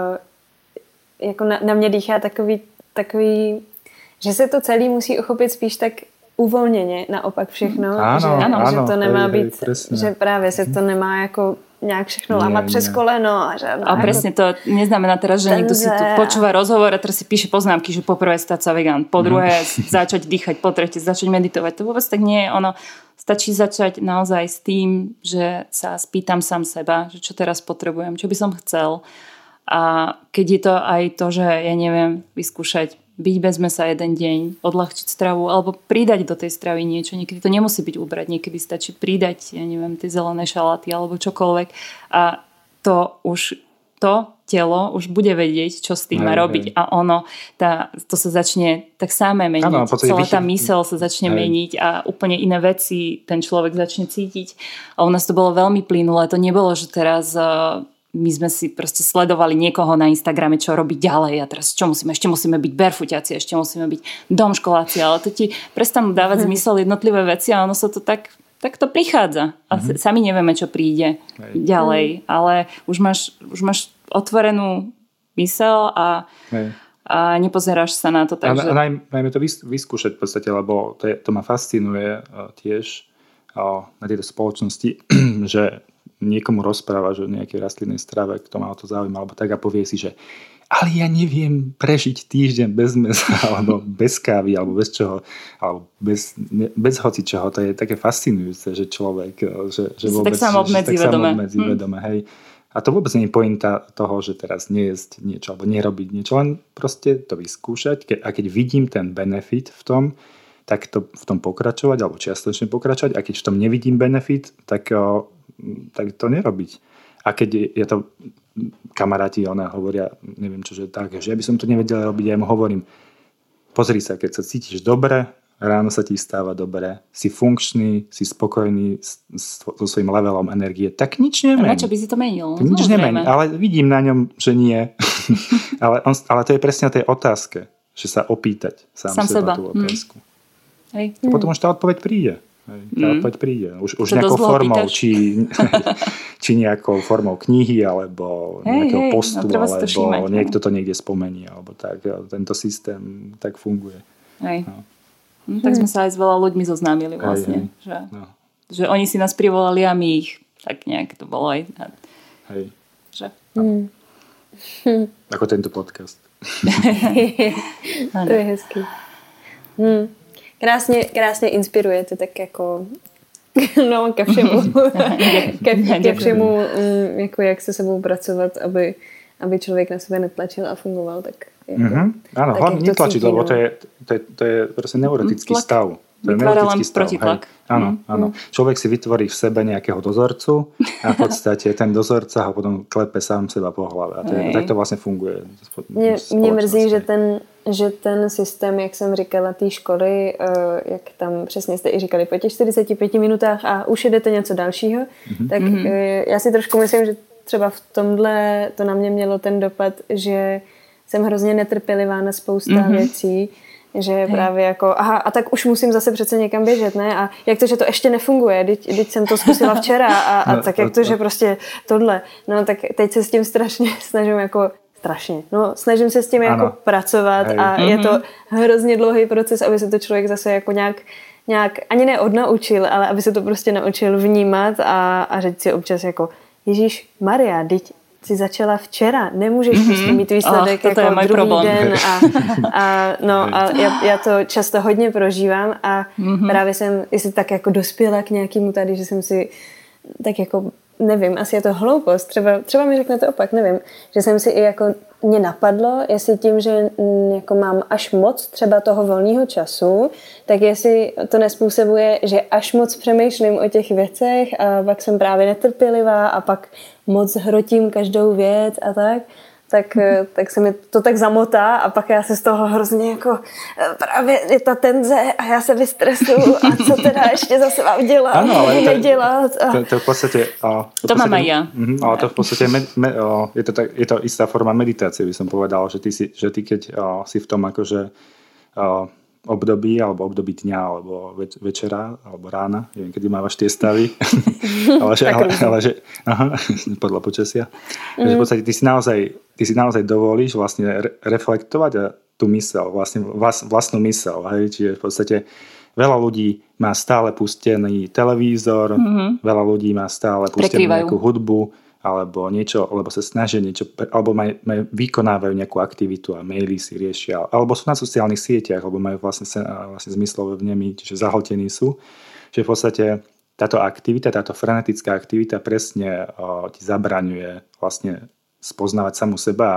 na mě dýchá takový, že se to celé musí uchopit spíš tak uvolněně, naopak všechno. Ano, že to nemá být, presne. že právě se to nemá jako nejak všechno lámať přes koleno. A presne to neznamená teraz, že niekto si tu počúva rozhovor a teraz si píše poznámky, že po prvé stať sa vegán, po druhé začať dýchať, po tretie začať meditovať. To vôbec tak nie je ono. Stačí začať naozaj s tým, že sa spýtam sám seba, že čo teraz potrebujem, čo by som chcel. A keď je to aj to, že ja neviem vyskúšať byť bez mesa jeden deň, odľahčiť stravu alebo pridať do tej stravy niečo. Niekedy to nemusí byť ubrať, niekedy stačí pridať, ja neviem, tie zelené šaláty alebo čokoľvek a to telo už bude vedieť, čo s tým má robiť a to sa začne tak samé meniť. Ano, celá tá myseľ sa začne meniť a úplne iné veci ten človek začne cítiť. A u nás to bolo veľmi plynulé. To nebolo, že teraz my sme si proste sledovali niekoho na Instagrame, čo robí ďalej a teraz ešte musíme byť barefootiaci, ešte musíme byť domškoláci, ale to ti prestanú dávať zmysel jednotlivé veci a ono sa to tak to prichádza. A sami nevieme, čo príde ďalej, ale už máš otvorenú myseľ a nepozeráš sa na to tak, že... Najmä to vyskúšať v podstate, lebo to ma fascinuje tiež na tejto spoločnosti, že niekomu rozprávaš o nejakej rastlinnej strave, kto ma o to zaujíma, alebo tak a povie si, že ale ja neviem prežiť týždeň bez mesa, alebo bez kávy, alebo bez čoho, alebo bez hocičoho. To je také fascinujúce, že človek, že vôbec... Tak sa obmedzí vedome. Hej. A to vôbec nie je pointa toho, že teraz nejesť niečo, alebo nerobiť niečo, len proste to vyskúšať. A keď vidím ten benefit v tom, tak to v tom pokračovať, alebo čiastočne pokračovať. A keď v tom nevidím benefit, tak to nerobiť. A keď je to kamaráti, hovoria, neviem čo, že tak, že ja by som to nevedel robiť, ja mu hovorím, pozri sa, keď sa cítiš dobre, ráno sa ti stáva dobre, si funkčný, si spokojný so svojím levelom energie, tak nič nemení. A na čo by si to menil? Nič nemení, ale vidím na ňom, že nie. ale to je presne o tej otázke, že sa opýtať sám seba tú otázku. Hej. A potom už tá odpoveď príde. Tá odpoveď príde. Už nejakou formou, či nejakou formou knihy, alebo nejakého postu, alebo niekto to niekde spomení, alebo tak. Tento systém tak funguje. Tak sme sa aj s veľa ľuďmi zoznámili vlastne. Že oni si nás privolali a my ich. Tak nejak to bolo aj. Hej. Ako tento podcast. To je hezký. Krásně inspirujete, tak jako ke všemu. ke všemu, jako jak se sebou pracovat, aby člověk na sebe netlačil a fungoval. Tak jako, áno, hlavne netlačiť, lebo to je proste neurotický stav. Vytvára len protitlak. Áno. Človek si vytvorí v sebe nejakého dozorcu a v podstate ten dozorca ho potom klepe sám seba po hlave. A tak to vlastne funguje. Mě mrzí, že ten systém, jak jsem říkala, té školy, jak tam přesně jste i říkali, po těch 45 minutách a už jedete něco dalšího, tak já si trošku myslím, že třeba v tomhle to na mě mělo ten dopad, že jsem hrozně netrpělivá na spousta věcí, že právě jako, aha, a tak už musím zase přece někam běžet, ne? A jak to, že to ještě nefunguje, teď jsem to zkusila včera a tak jak to, že prostě tohle. No tak teď se s tím strašně snažím jako snažím se s tím jako pracovat a je to hrozně dlouhý proces, aby se to člověk zase jako nějak ani neodnaučil, ale aby se to prostě naučil vnímat a říct si občas jako Ježíš Maria, teď si začala včera, nemůžeš prostě mít výsledek jako druhý problém. Den a já to často hodně prožívám a právě jsem jestli tak jako dospěla k nějakému tady, že jsem si tak jako nevím, asi je to hloupost, třeba mi řeknete opak, nevím, že jsem si i jako mě napadlo, jestli tím, že jako mám až moc třeba toho volného času, tak jestli to nespůsobuje, že až moc přemýšlím o těch věcech a pak jsem právě netrpělivá a pak moc hrotím každou věc a tak se mi to tak zamotá a pak já se z toho hrozně jako právě je ta tenze a já se vystresuju a co teda ještě zase mám dělat, ale nedělat. To v podstate... To mám aj ja. Ale to v podstate je to istá forma meditácie, by som povedal, že ty keď si v tom akože období, alebo období dňa, alebo večera, alebo rána, neviem, kedy mávaš tie stavy, ale že podľa počasia, že v podstate ty si naozaj dovolíš vlastne reflektovať a tú myseľ, vlastne vlastnú myseľ, hej, čiže v podstate veľa ľudí má stále pustený televízor, veľa ľudí má stále pustenú nejakú hudbu, alebo niečo, alebo sa snažia niečo, alebo vykonávajú nejakú aktivitu a maily si riešia, alebo sú na sociálnych sieťach, alebo majú vlastne zmyslové vnemy, čiže zahltení sú. Čiže v podstate táto aktivita, táto frenetická aktivita presne ti zabraňuje vlastne spoznávať samu seba a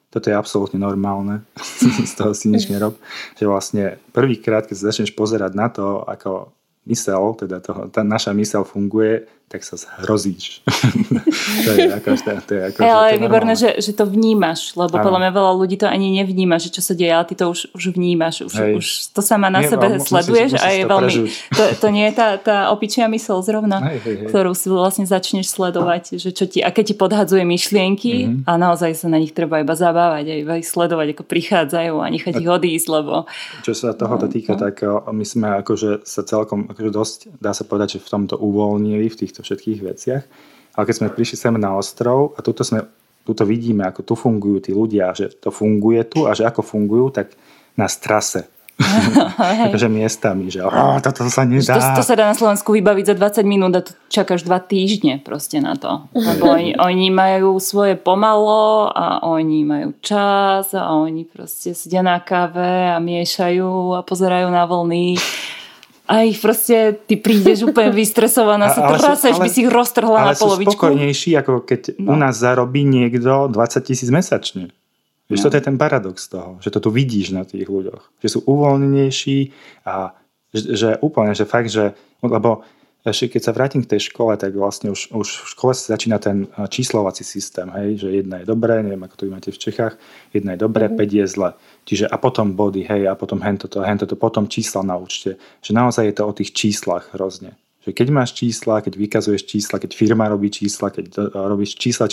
toto je absolútne normálne, z toho si nič nerob, že vlastne prvýkrát, keď sa začneš pozerať na to, ako mysel, teda tá naša mysel funguje, tak sa zhrozíš. to je ale je výborné, že to vnímaš, lebo podľa mňa veľa ľudí to ani nevníma, že čo sa deje, ale ty to už vnímaš. Už to sama na sebe sleduješ a je veľmi... To nie je tá opičia mysel zrovna, ktorú si vlastne začneš sledovať, že čo ti, a keď ti podhadzuje myšlienky a naozaj sa na nich treba iba zabávať a iba ich sledovať, ako prichádzajú a nechať ich odísť, lebo... Čo sa tohoto týka, tak my sme akože sa celkom akože dosť, dá sa povedať, že v tomto uvoľnili, v týchto všetkých veciach. Ale keď sme prišli sem na ostrov a tuto vidíme, ako tu fungujú tí ľudia, že to funguje tu a že ako fungujú, tak na strase. Takže miestami, že toto sa nedá. To sa dá na Slovensku vybaviť za 20 minút a tu čakáš 2 týždne proste na to. Lebo oni majú svoje pomalo a oni majú čas a oni proste sedia na káve a miešajú a pozerajú na vlny. A ich proste, ty prídeš úplne vystresovaná, sa traseš, by si ich roztrhla na polovičku. Ale sú spokojnejší, ako keď u nás zarobí niekto 20 000 mesačne. Vieš, toto je ten paradox toho, že to tu vidíš na tých ľuďoch. Že sú uvoľnenejší a že úplne, že fakt, že... Lebo ešte keď sa vrátim k tej škole, tak vlastne už v škole sa začína ten číslovací systém, hej, že 1 je dobré, neviem, ako to vy máte v Čechách, 1 je dobré, 5 je zle. Čiže a potom body, hej, a potom hentoto, potom čísla na účte. Že naozaj je to o tých číslach hrozne. Že keď máš čísla, keď vykazuješ čísla, keď firma robí čísla, keď robíš čísla.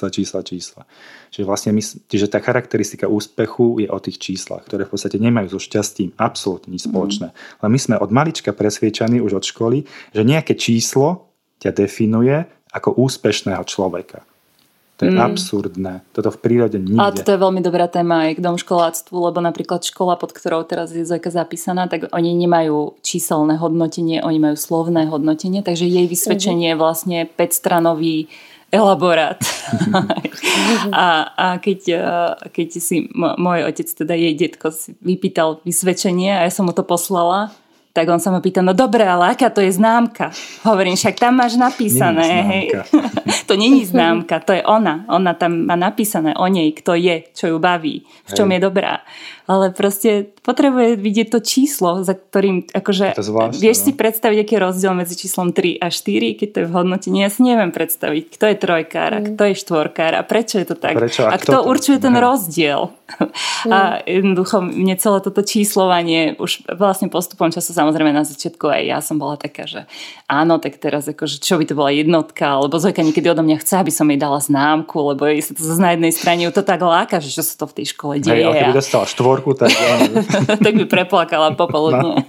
Čiže vlastne že tá charakteristika úspechu je o tých číslach, ktoré v podstate nemajú so šťastím absolútne nič spoločné. Ale my sme od malička presviečaní už od školy, že nejaké číslo ťa definuje ako úspešného človeka. To je absurdné. Toto v prírode nikde. Ale toto je veľmi dobrá téma aj k domškoláctvu, lebo napríklad škola, pod ktorou teraz je Zojka zapísaná, tak oni nemajú číselné hodnotenie, oni majú slovné hodnotenie, takže jej vysvedčenie je vlastne 5-stranový elaborát. a keď si môj otec, teda jej detko, si vypýtal vysvedčenie a ja som mu to poslala, tak on sa ma pýta, no dobre, ale aká to je známka? Hovorím, však tam máš napísané. Hej. To není známka, to je ona. Ona tam má napísané o nej, kto je, čo ju baví, v čom je dobrá. Ale proste potrebuje vidieť to číslo, za ktorým, akože, vieš si predstaviť, aký je rozdiel medzi číslom 3 a 4, keď to je v hodnotení. Ja si neviem predstaviť, kto je trojkár a kto je štvorkár a prečo je to tak. A kto určuje ten rozdiel. A jednoducho mne celé toto číslovanie už vlastne postupom času, samozrejme na začiatku aj ja som bola taká, že áno, tak teraz akože, čo by to bola jednotka, alebo Zojka niekedy odo mňa chce, aby som jej dala známku, lebo jej sa to na jednej strane ju to tak láka, že čo sa to v tej škole deje. Ale keby dostala štvorku, tak tak by preplakala popoludne.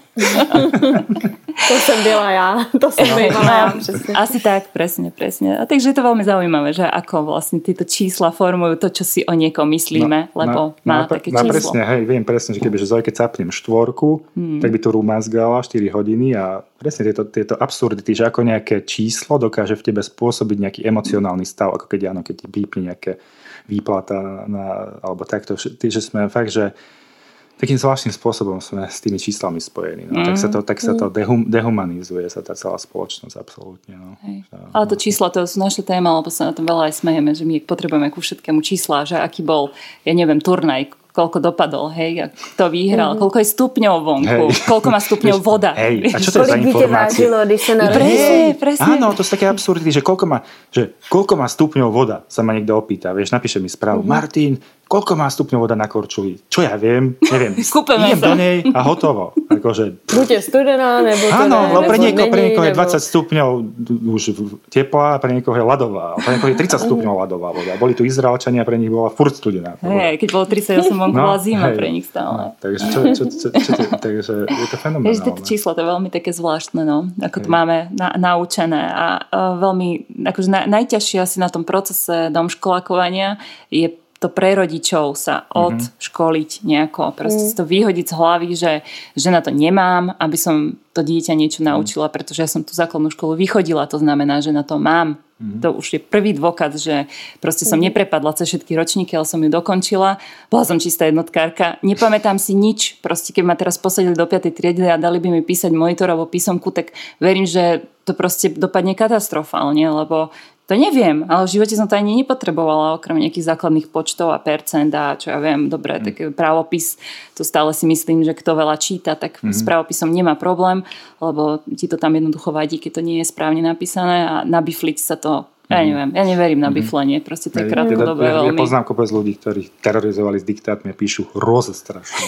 To som byla ja. To som byla. Asi tak, presne. A takže je to veľmi zaujímavé, že ako vlastne tieto čísla formujú to, čo si o niekom myslíme, lebo má také číslo. Presne, hej, viem presne, že kebyže Zojke capnem štvorku, tak by tu rumazgala 4 hodiny a presne tieto absurdity, že ako nejaké číslo dokáže v tebe spôsobiť nejaký emocionálny stav, ako keď ti pípne nejaké výplata alebo takto, že sme fakt, že takým zvláštnym spôsobom sme s tými číslami spojení. No. Tak sa to dehumanizuje sa tá celá spoločnosť absolútne. No. Ale to čísla, to sú naša téma, lebo sa na tom veľa aj smejeme, že my potrebujeme ku všetkému čísla, že aký bol, ja neviem, turnaj, koľko dopadol, hej, a kto vyhral, koľko je stupňov vonku, koľko má stupňov voda. Hej, a čo to je za informácie? Presne. Áno, to sú také absurdity, že koľko má stupňov voda, sa ma niekto opýta, vieš, napíše mi správu, Martin, koľko má stupňov voda na Korčuli? Čo ja viem, neviem. Idem do nej a hotovo. Akože... Buďte studená, nebo to áno, pre niekoho je 20 stupňov už teplá, pre niekoho je ľadová. Pre niekoho je 30 stupňov ľadová voda. Boli tu Izraelčania, pre nich bola furt studená. Keď bolo 38, vonku bola zima pre nich stále. Takže takže je to fenomenálne. Tieto čísla, to je veľmi také zvláštne, no. Ako to máme naučené a veľmi, akože najťažšie asi na tom procese domškolákovania je to pre rodičov sa odškoliť nejako. Proste si to vyhodiť z hlavy, že na to nemám, aby som to dieťa niečo naučila, pretože ja som tú základnú školu vychodila, to znamená, že na to mám. To už je prvý dôkaz, že proste som neprepadla cez všetky ročníky, ale som ju dokončila. Bola som čistá jednotkárka. Nepamätám si nič. Proste keď ma teraz posadili do 5. triedy a dali by mi písať monitorovú písomku, tak verím, že to proste dopadne katastrofálne, lebo To neviem, ale v živote som to ani nepotrebovala, okrem nejakých základných počtov a percent a čo ja viem, dobre, taký právopis, to stále si myslím, že kto veľa číta, tak s právopisom nemá problém, lebo ti to tam jednoducho vadí, keď to nie je správne napísané a nabifliť sa to, ja neviem, ja neverím na biflenie, proste to je krátkodobé veľmi. Ja poznám kopec ľudí, ktorí terorizovali s diktátmi a píšu hroze strašné.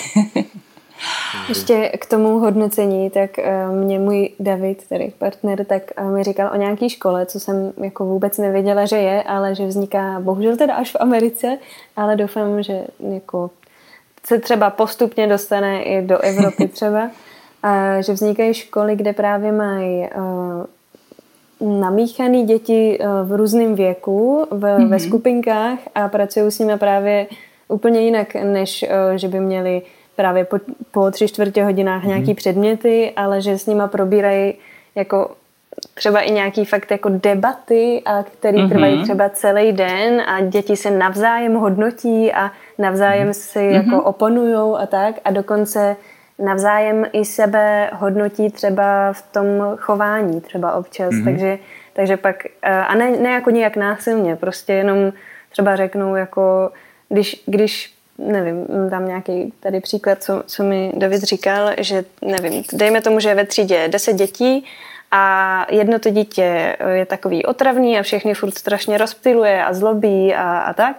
Ještě k tomu hodnocení, tak mě můj David, tedy partner, tak mi říkal o nějaký škole, co jsem jako vůbec nevěděla, že je, ale že vzniká bohužel teda až v Americe, ale doufám, že jako se třeba postupně dostane i do Evropy třeba, a že vznikají školy, kde právě mají namíchaný děti v různém věku, ve skupinkách a pracují s nimi právě úplně jinak, než že by měli právě po 3/4 hodinách nějaký předměty, ale že s nima probírají jako třeba i nějaký fakt jako debaty, a který trvají třeba celý den a děti se navzájem hodnotí a navzájem si jako oponujou a tak a dokonce navzájem i sebe hodnotí třeba v tom chování třeba občas, takže pak a ne jako nějak násilně, prostě jenom třeba řeknou jako když nevím, tam nějaký tady příklad, co mi David říkal, že nevím, dejme tomu, že je ve třídě 10 dětí a jedno to dítě je takový otravný a všechny furt strašně rozptyluje a zlobí a tak.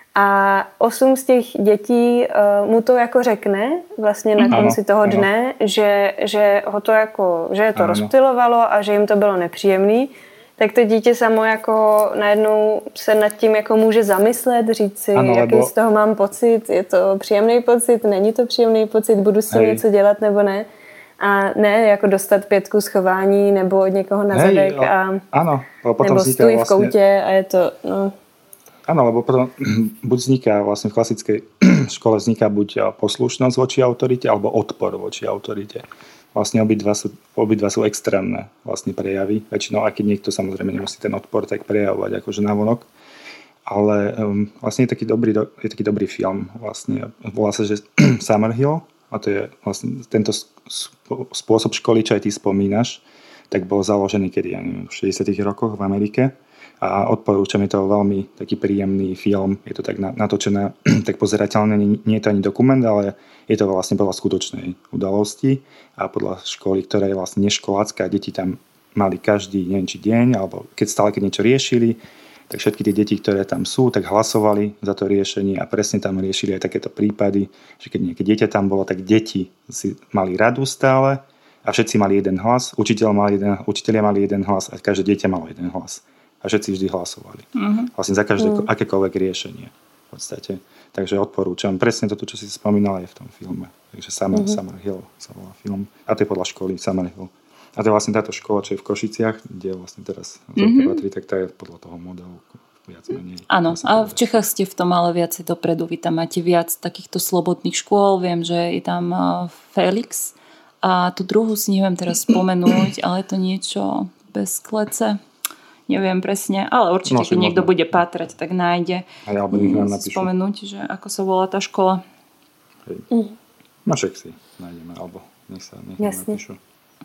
A 8 z těch dětí mu to jako řekne vlastně na konci toho dne, že ho to jako, že je to rozptylovalo a že jim to bylo nepříjemný. Tak to dítě samo jako najednou se nad tím jako může zamyslet, říct si, jaký z toho mám pocit, je to příjemný pocit, není to příjemný pocit, budu s tím něco dělat nebo ne. A ne jako dostat 5 z chování nebo od někoho na zadek nebo stůj v koutě a je to, no. Áno, lebo potom buď vzniká vlastne v klasickej škole vzniká buď poslušnosť voči autorite alebo odpor voči autorite. Vlastne obidva sú extrémne vlastne prejavy. Väčšinou, aj keď niekto samozrejme nemusí ten odpor tak prejavovať akože navonok. Ale vlastne je taký dobrý film. Vlastne volá sa, že Summerhill, a to je vlastne tento spôsob školy, čo aj ty spomínaš, tak bol založený kedy, ja neviem, v 60. rokoch v Amerike. A odporúčam, je to veľmi taký príjemný film. Je to tak natočené, tak pozerateľné. Nie je to ani dokument, ale je to vlastne podľa skutočnej udalosti a podľa školy, ktorá je vlastne neškolácka. Deti tam mali každý, neviem či deň, alebo keď niečo riešili, tak všetky tie deti, ktoré tam sú, tak hlasovali za to riešenie a presne tam riešili aj takéto prípady, že keď nejaké dieťa tam bolo, tak deti si mali radu stále a všetci mali jeden hlas. Učitelia mali jeden hlas a každé dieťa malo jeden hlas. A všetci vždy hlasovali. Vlastne za každé akékoľvek riešenie v podstate. Takže odporúčam. Presne toto, čo si spomínala, je v tom filme. Takže Summerhill sa volá film. A to je podľa školy Summerhill. A to je vlastne táto škola, čo je v Košiciach, kde vlastne teraz patrí, tak to je podľa toho modelu viac menej. Áno, a v Čechách ste v tom ale viacej dopredu. Vy tam máte viac takýchto slobodných škôl. Viem, že je tam Felix. A tú druhú si neviem teraz spomenúť, ale je to niečo bez klece. Neviem presne, ale určite, keď niekto bude pátrať, tak nájde spomenúť, že ako sa volá tá škola. No však si nájdeme, alebo nech sa napíšu.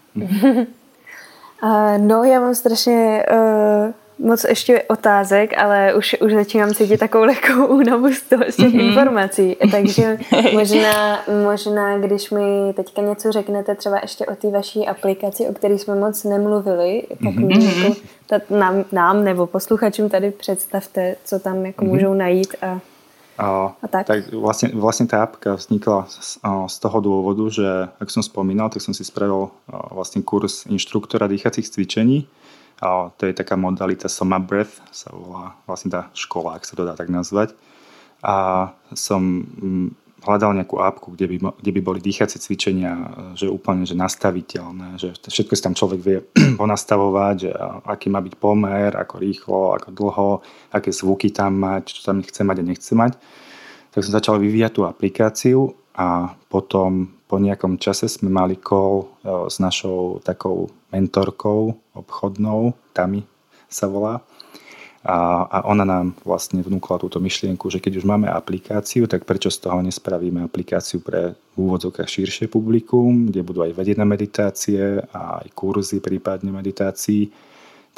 No, já mám strašně moc ještě otázek, ale už začínám cítit takovou lehkou únavu z těch informací. Takže možná, když mi teďka něco řeknete třeba ještě o té vaší aplikaci, o které jsme moc nemluvili, tak nám nebo posluchačům tady představte, co tam jako můžou najít a tak. Tak vlastne tá apka vznikla z toho dôvodu, že ako som spomínal, tak som si spravil vlastne kurz inštruktora dýchacích cvičení. To je taká modalita Soma Breath, sa volá vlastne tá škola, ak sa to dá tak nazvať. A som hľadal nejakú apku, kde by boli dýchacie cvičenia, že úplne že nastaviteľné, že všetko si tam človek vie ponastavovať, že aký má byť pomer, ako rýchlo, ako dlho, aké zvuky tam mať, čo tam chce mať a nechce mať. Tak som začal vyvíjať tú aplikáciu a potom po nejakom čase sme mali call s našou takou mentorkou obchodnou, Tami sa volá. A ona nám vlastne vnúkla túto myšlienku, že keď už máme aplikáciu, tak prečo z toho nespravíme aplikáciu pre v úvodzovkách širšie publikum, kde budú aj vedené meditácie a aj kurzy prípadne meditácií.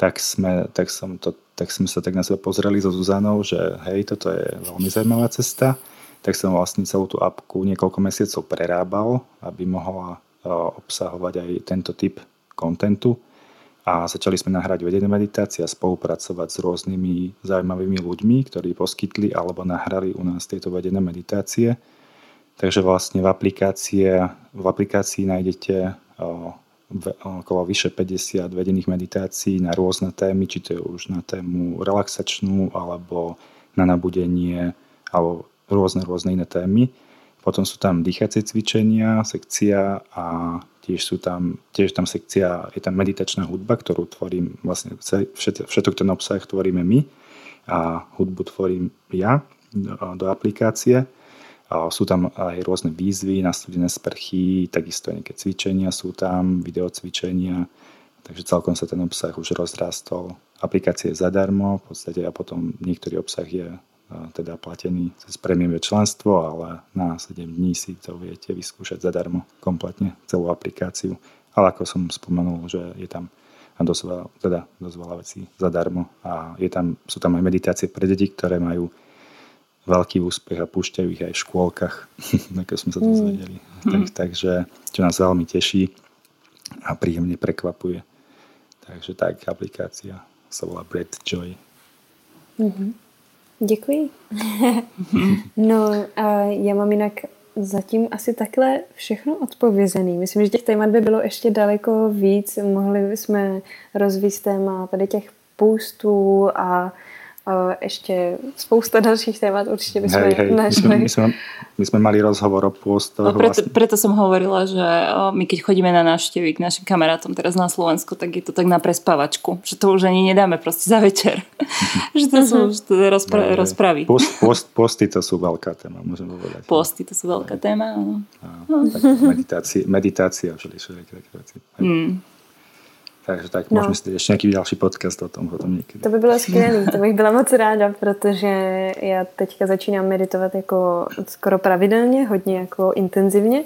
tak sme sa tak na seba pozreli so Zuzanou, že hej, toto je veľmi zaujímavá cesta. Tak som vlastne celú tú apku niekoľko mesiacov prerábal, aby mohla obsahovať aj tento typ kontentu. A začali sme nahrať vedené meditácie a spolupracovať s rôznymi zaujímavými ľuďmi, ktorí poskytli alebo nahrali u nás tieto vedené meditácie. Takže vlastne v aplikácii nájdete okolo vyše 50 vedených meditácií na rôzne témy, či to je už na tému relaxačnú, alebo na nabudenie, alebo rôzne iné témy. Potom sú tam dýchacie cvičenia, sekcia a tiež tam sekcia, je tam meditačná hudba, ktorú tvorím, vlastne všetok ten obsah tvoríme my a hudbu tvorím ja do aplikácie. Sú tam aj rôzne výzvy na studené sprchy, takisto aj nejaké cvičenia sú tam, videocvičenia, takže celkom sa ten obsah už rozrastol. Aplikácia je zadarmo v podstate a potom niektorý obsah je teda platený cez prémiové členstvo, ale na 7 dní si to viete vyskúšať zadarmo kompletne celú aplikáciu. Ale ako som spomenul, že je tam dosť veľa vecí zadarmo a sú tam aj meditácie pre deti, ktoré majú veľký úspech a púšťajú ich aj v škôlkach, ako sme sa dozvedeli. Takže čo nás veľmi teší a príjemne prekvapuje. Takže tak, aplikácia sa volá Breath Joy. Děkuji. No a já mám jinak zatím asi takhle všechno odpovězený. Myslím, že těch témat by bylo ještě daleko víc. Mohli bychom rozvíct téma tady těch půstů a ešte spousta dalších témat určite by sme našli. My sme mali rozhovor o pôstoch. Preto som hovorila, že my keď chodíme na návštevy k našim kamarátom teraz na Slovensku, tak je to tak na prespávačku, že to už ani nedáme proste za večer. Že to sú rozpravy. Posty to sú veľká téma, môžem povedať. Posty to sú veľká téma, áno. Meditácia, všeličo. Takže tak, můžeme si ještě nějaký další podcast o tom potom někdy. To by bylo skvělé, to bych byla moc ráda, protože já teďka začínám meditovat jako skoro pravidelně, hodně jako intenzivně,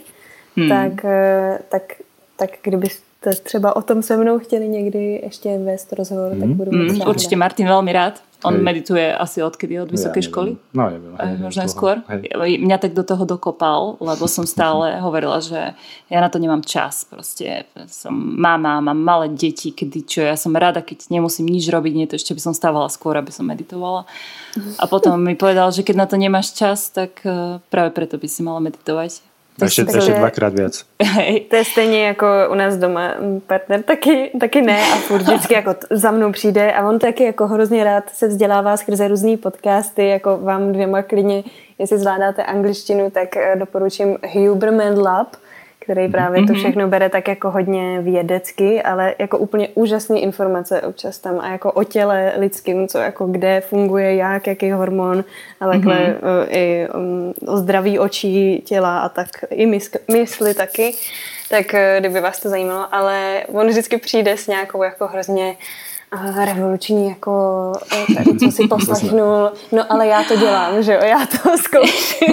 tak kdybyste třeba o tom se mnou chtěli někdy ještě vést rozhovor, tak budu moc ráda. Určite Martin veľmi rád. On medituje asi odkedy? Od vysokej školy? No, neviem. Možno aj skôr. Mňa tak do toho dokopal, lebo som stále hovorila, že ja na to nemám čas. Proste som mama, mám malé deti, ja som rada, keď nemusím nič robiť, nie to ešte by som stávala skôr, aby som meditovala. A potom mi povedal, že keď na to nemáš čas, tak práve preto by si mala meditovať. Ještě dvakrát viac. To je stejně jako u nás doma. Partner taky ne a furt vždycky jako za mnou přijde a on taky jako hrozně rád se vzdělává skrze různý podcasty, jako vám dvěma klidně, jestli zvládáte angličtinu, tak doporučím Huberman Lab, který právě to všechno bere tak jako hodně vědecky, ale jako úplně úžasné informace občas tam a jako o těle lidským, co jako kde funguje, jaký hormon, ale takhle i o zdraví očí, těla a tak i mysli taky. Tak kdyby vás to zajímalo, ale on vždycky přijde s nějakou jako hrozně revoluční, jako tady, co si poslechnul. No ale já to dělám, že jo, já to zkouším.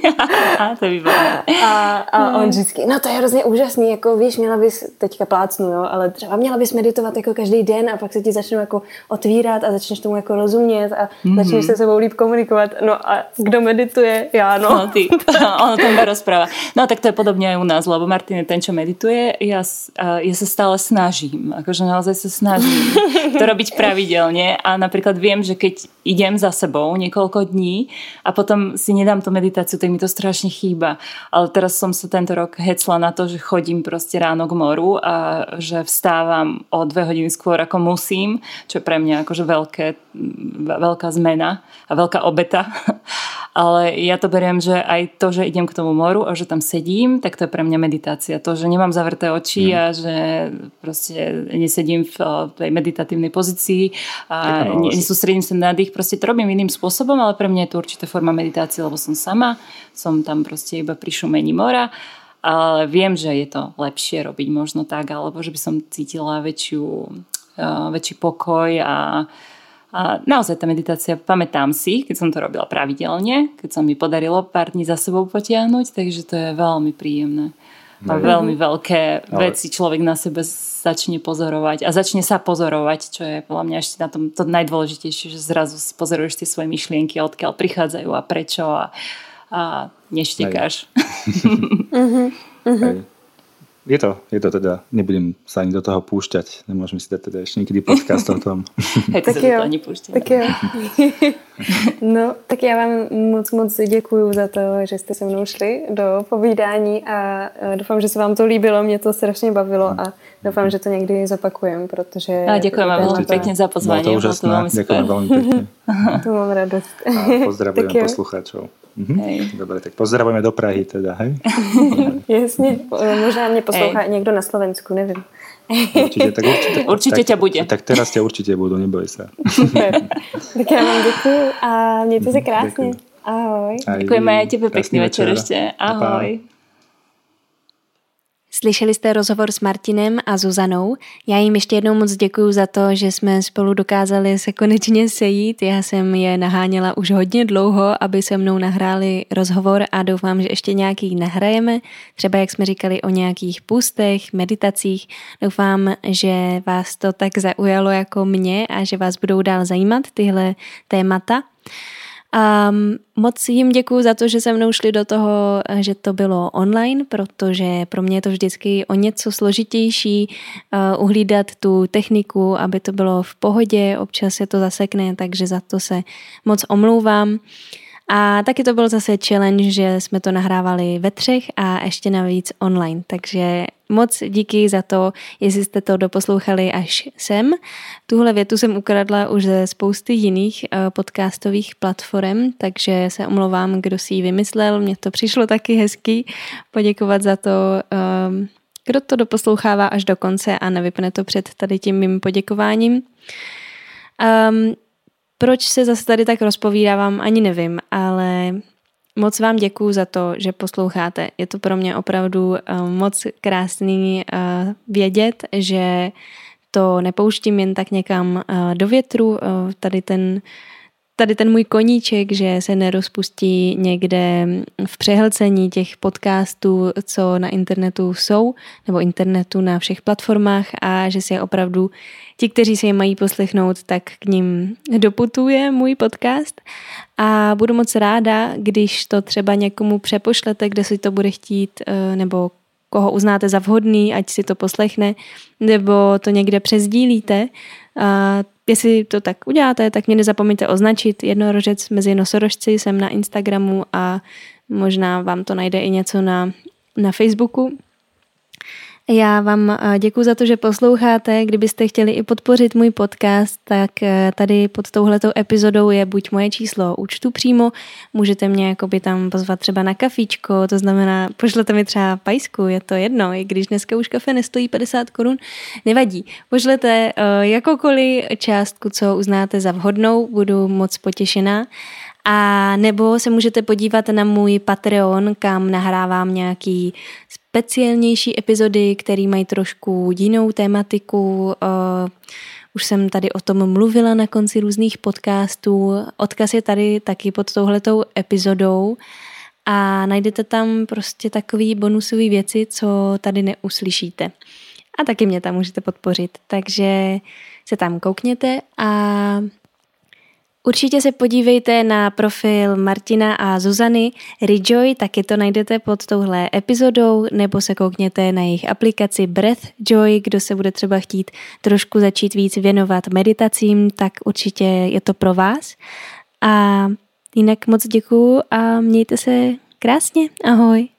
To je výborné. A on vždycky, no to je hrozně úžasný, jako víš, měla bys, teďka plácnu, jo, ale třeba měla bys meditovat jako každý den a pak se ti začnou jako otvírat a začneš tomu jako rozumět a začneš se sebou líp komunikovat. No a kdo medituje? Já, no. No ty, ono tam rozpráva. No tak to je podobne aj u nás, lebo Martin je ten, čo medituje. Ja sa stále snažím, akože naozaj sa snažím to robiť pravidelne a napríklad viem, že keď idem za sebou niekoľko dní a potom si nedám tú meditáciu, tak mi to strašne chýba. Ale teraz som sa tento rok hecla na to, že chodím proste ráno k moru a že vstávam o 2 hodiny skôr ako musím, čo je pre mňa akože veľká zmena a veľká obeta. Ale ja to beriem, že aj to, že idem k tomu moru a že tam sedím, tak to je pre mňa meditácia. To, že nemám zavreté oči a že proste nesedím v tej meditatívnej pozícii a nesústredím sa na dých, proste to robím iným spôsobom, ale pre mňa je to určitá forma meditácie, lebo som sama, som tam proste iba pri šumení mora, ale viem, že je to lepšie robiť možno tak, alebo že by som cítila väčší pokoj a naozaj tá meditácia, pamätám si, keď som to robila pravidelne, keď sa mi podarilo pár dní za sebou potiahnuť, takže to je veľmi príjemné. A veľmi veľké veci človek na sebe začne pozorovať a začne sa pozorovať, čo je podľa mňa ešte na tom to najdôležitejšie, že zrazu si pozoruješ tie svoje myšlienky, odkiaľ prichádzajú a prečo a neštekáš. Je to teda, nebudem sa ani do toho púšťať, nemôžeme si dať teda ešte niekedy podcast o tom. Tak sa do toho ani púšťať. Tak jo. No, tak já vám moc děkuju za to, že jste se mnou šli do povídání a doufám, že se vám to líbilo, mě to strašně bavilo a doufám, že to někdy zopakujem, protože... A ďakujeme veľmi pekne za pozvanie. Bolo to úžasné, ďakujem veľmi pekne. To mám radost. A pozdravujem poslucháčov. Dobre, tak pozdravujeme do Prahy teda, hej? Jasně, možná mě poslouchá někdo na Slovensku, nevím. Určite ťa bude. Tak teraz ťa určite budú, neboj sa. Super. Tak já vám děkuju a mějte se krásně. Ahoj. Děkujeme aj tebe, pekný večer ešte. Ahoj. Slyšeli jste rozhovor s Martinem a Zuzanou. Já jim ještě jednou moc děkuju za to, že jsme spolu dokázali se konečně sejít. Já jsem je naháněla už hodně dlouho, aby se mnou nahráli rozhovor a doufám, že ještě nějaký nahrajeme. Třeba jak jsme říkali o nějakých půstech, meditacích. Doufám, že vás to tak zaujalo jako mě a že vás budou dál zajímat tyhle témata. Moc jim děkuju za to, že se mnou šli do toho, že to bylo online, protože pro mě je to vždycky o něco složitější uhlídat tu techniku, aby to bylo v pohodě, občas se to zasekne, takže za to se moc omlouvám. A taky to byl zase challenge, že jsme to nahrávali ve 3 a ještě navíc online, takže moc díky za to, jestli jste to doposlouchali až sem. Tuhle větu jsem ukradla už ze spousty jiných podcastových platform, takže se omlouvám, kdo si ji vymyslel. Mně to přišlo taky hezký poděkovat za to, kdo to doposlouchává až do konce a nevypne to před tady tím mým poděkováním. Proč se zase tady tak rozpovídávám, ani nevím, ale moc vám děkuju za to, že posloucháte. Je to pro mě opravdu moc krásný vědět, že to nepouštím jen tak někam do větru, tady ten můj koníček, že se nerozpustí někde v přehlcení těch podcastů, co na internetu jsou, nebo internetu na všech platformách a že si je opravdu ti, kteří si je mají poslechnout, tak k ním doputuje můj podcast a budu moc ráda, když to třeba někomu přepošlete, kde si to bude chtít, nebo koho uznáte za vhodný, ať si to poslechne, nebo to někde přesdílíte. Jestli to tak uděláte, tak mě nezapomeňte označit Jednorožec mezi nosorožci, jsem na Instagramu a možná vám to najde i něco na Facebooku. Já vám děkuju za to, že posloucháte. Kdybyste chtěli i podpořit můj podcast, tak tady pod touhletou epizodou je buď moje číslo účtu přímo, můžete mě jakoby tam pozvat třeba na kafíčko, to znamená, pošlete mi třeba pajsku, je to jedno, i když dneska už kafe nestojí 50 korun, nevadí. Pošlete jakoukoliv částku, co uznáte za vhodnou, budu moc potěšená. A nebo se můžete podívat na můj Patreon, kam nahrávám nějaký speciálnější epizody, které mají trošku jinou tématiku. Už jsem tady o tom mluvila na konci různých podcastů. Odkaz je tady taky pod touhletou epizodou a najdete tam prostě takový bonusové věci, co tady neuslyšíte. A taky mě tam můžete podpořit. Takže se tam koukněte a určitě se podívejte na profil Martina a Zuzany Rejoy, taky to najdete pod touhle epizodou, nebo se koukněte na jejich aplikaci Breath Joy, kdo se bude třeba chtít trošku začít víc věnovat meditacím, tak určitě je to pro vás. A jinak moc děkuju a mějte se krásně. Ahoj.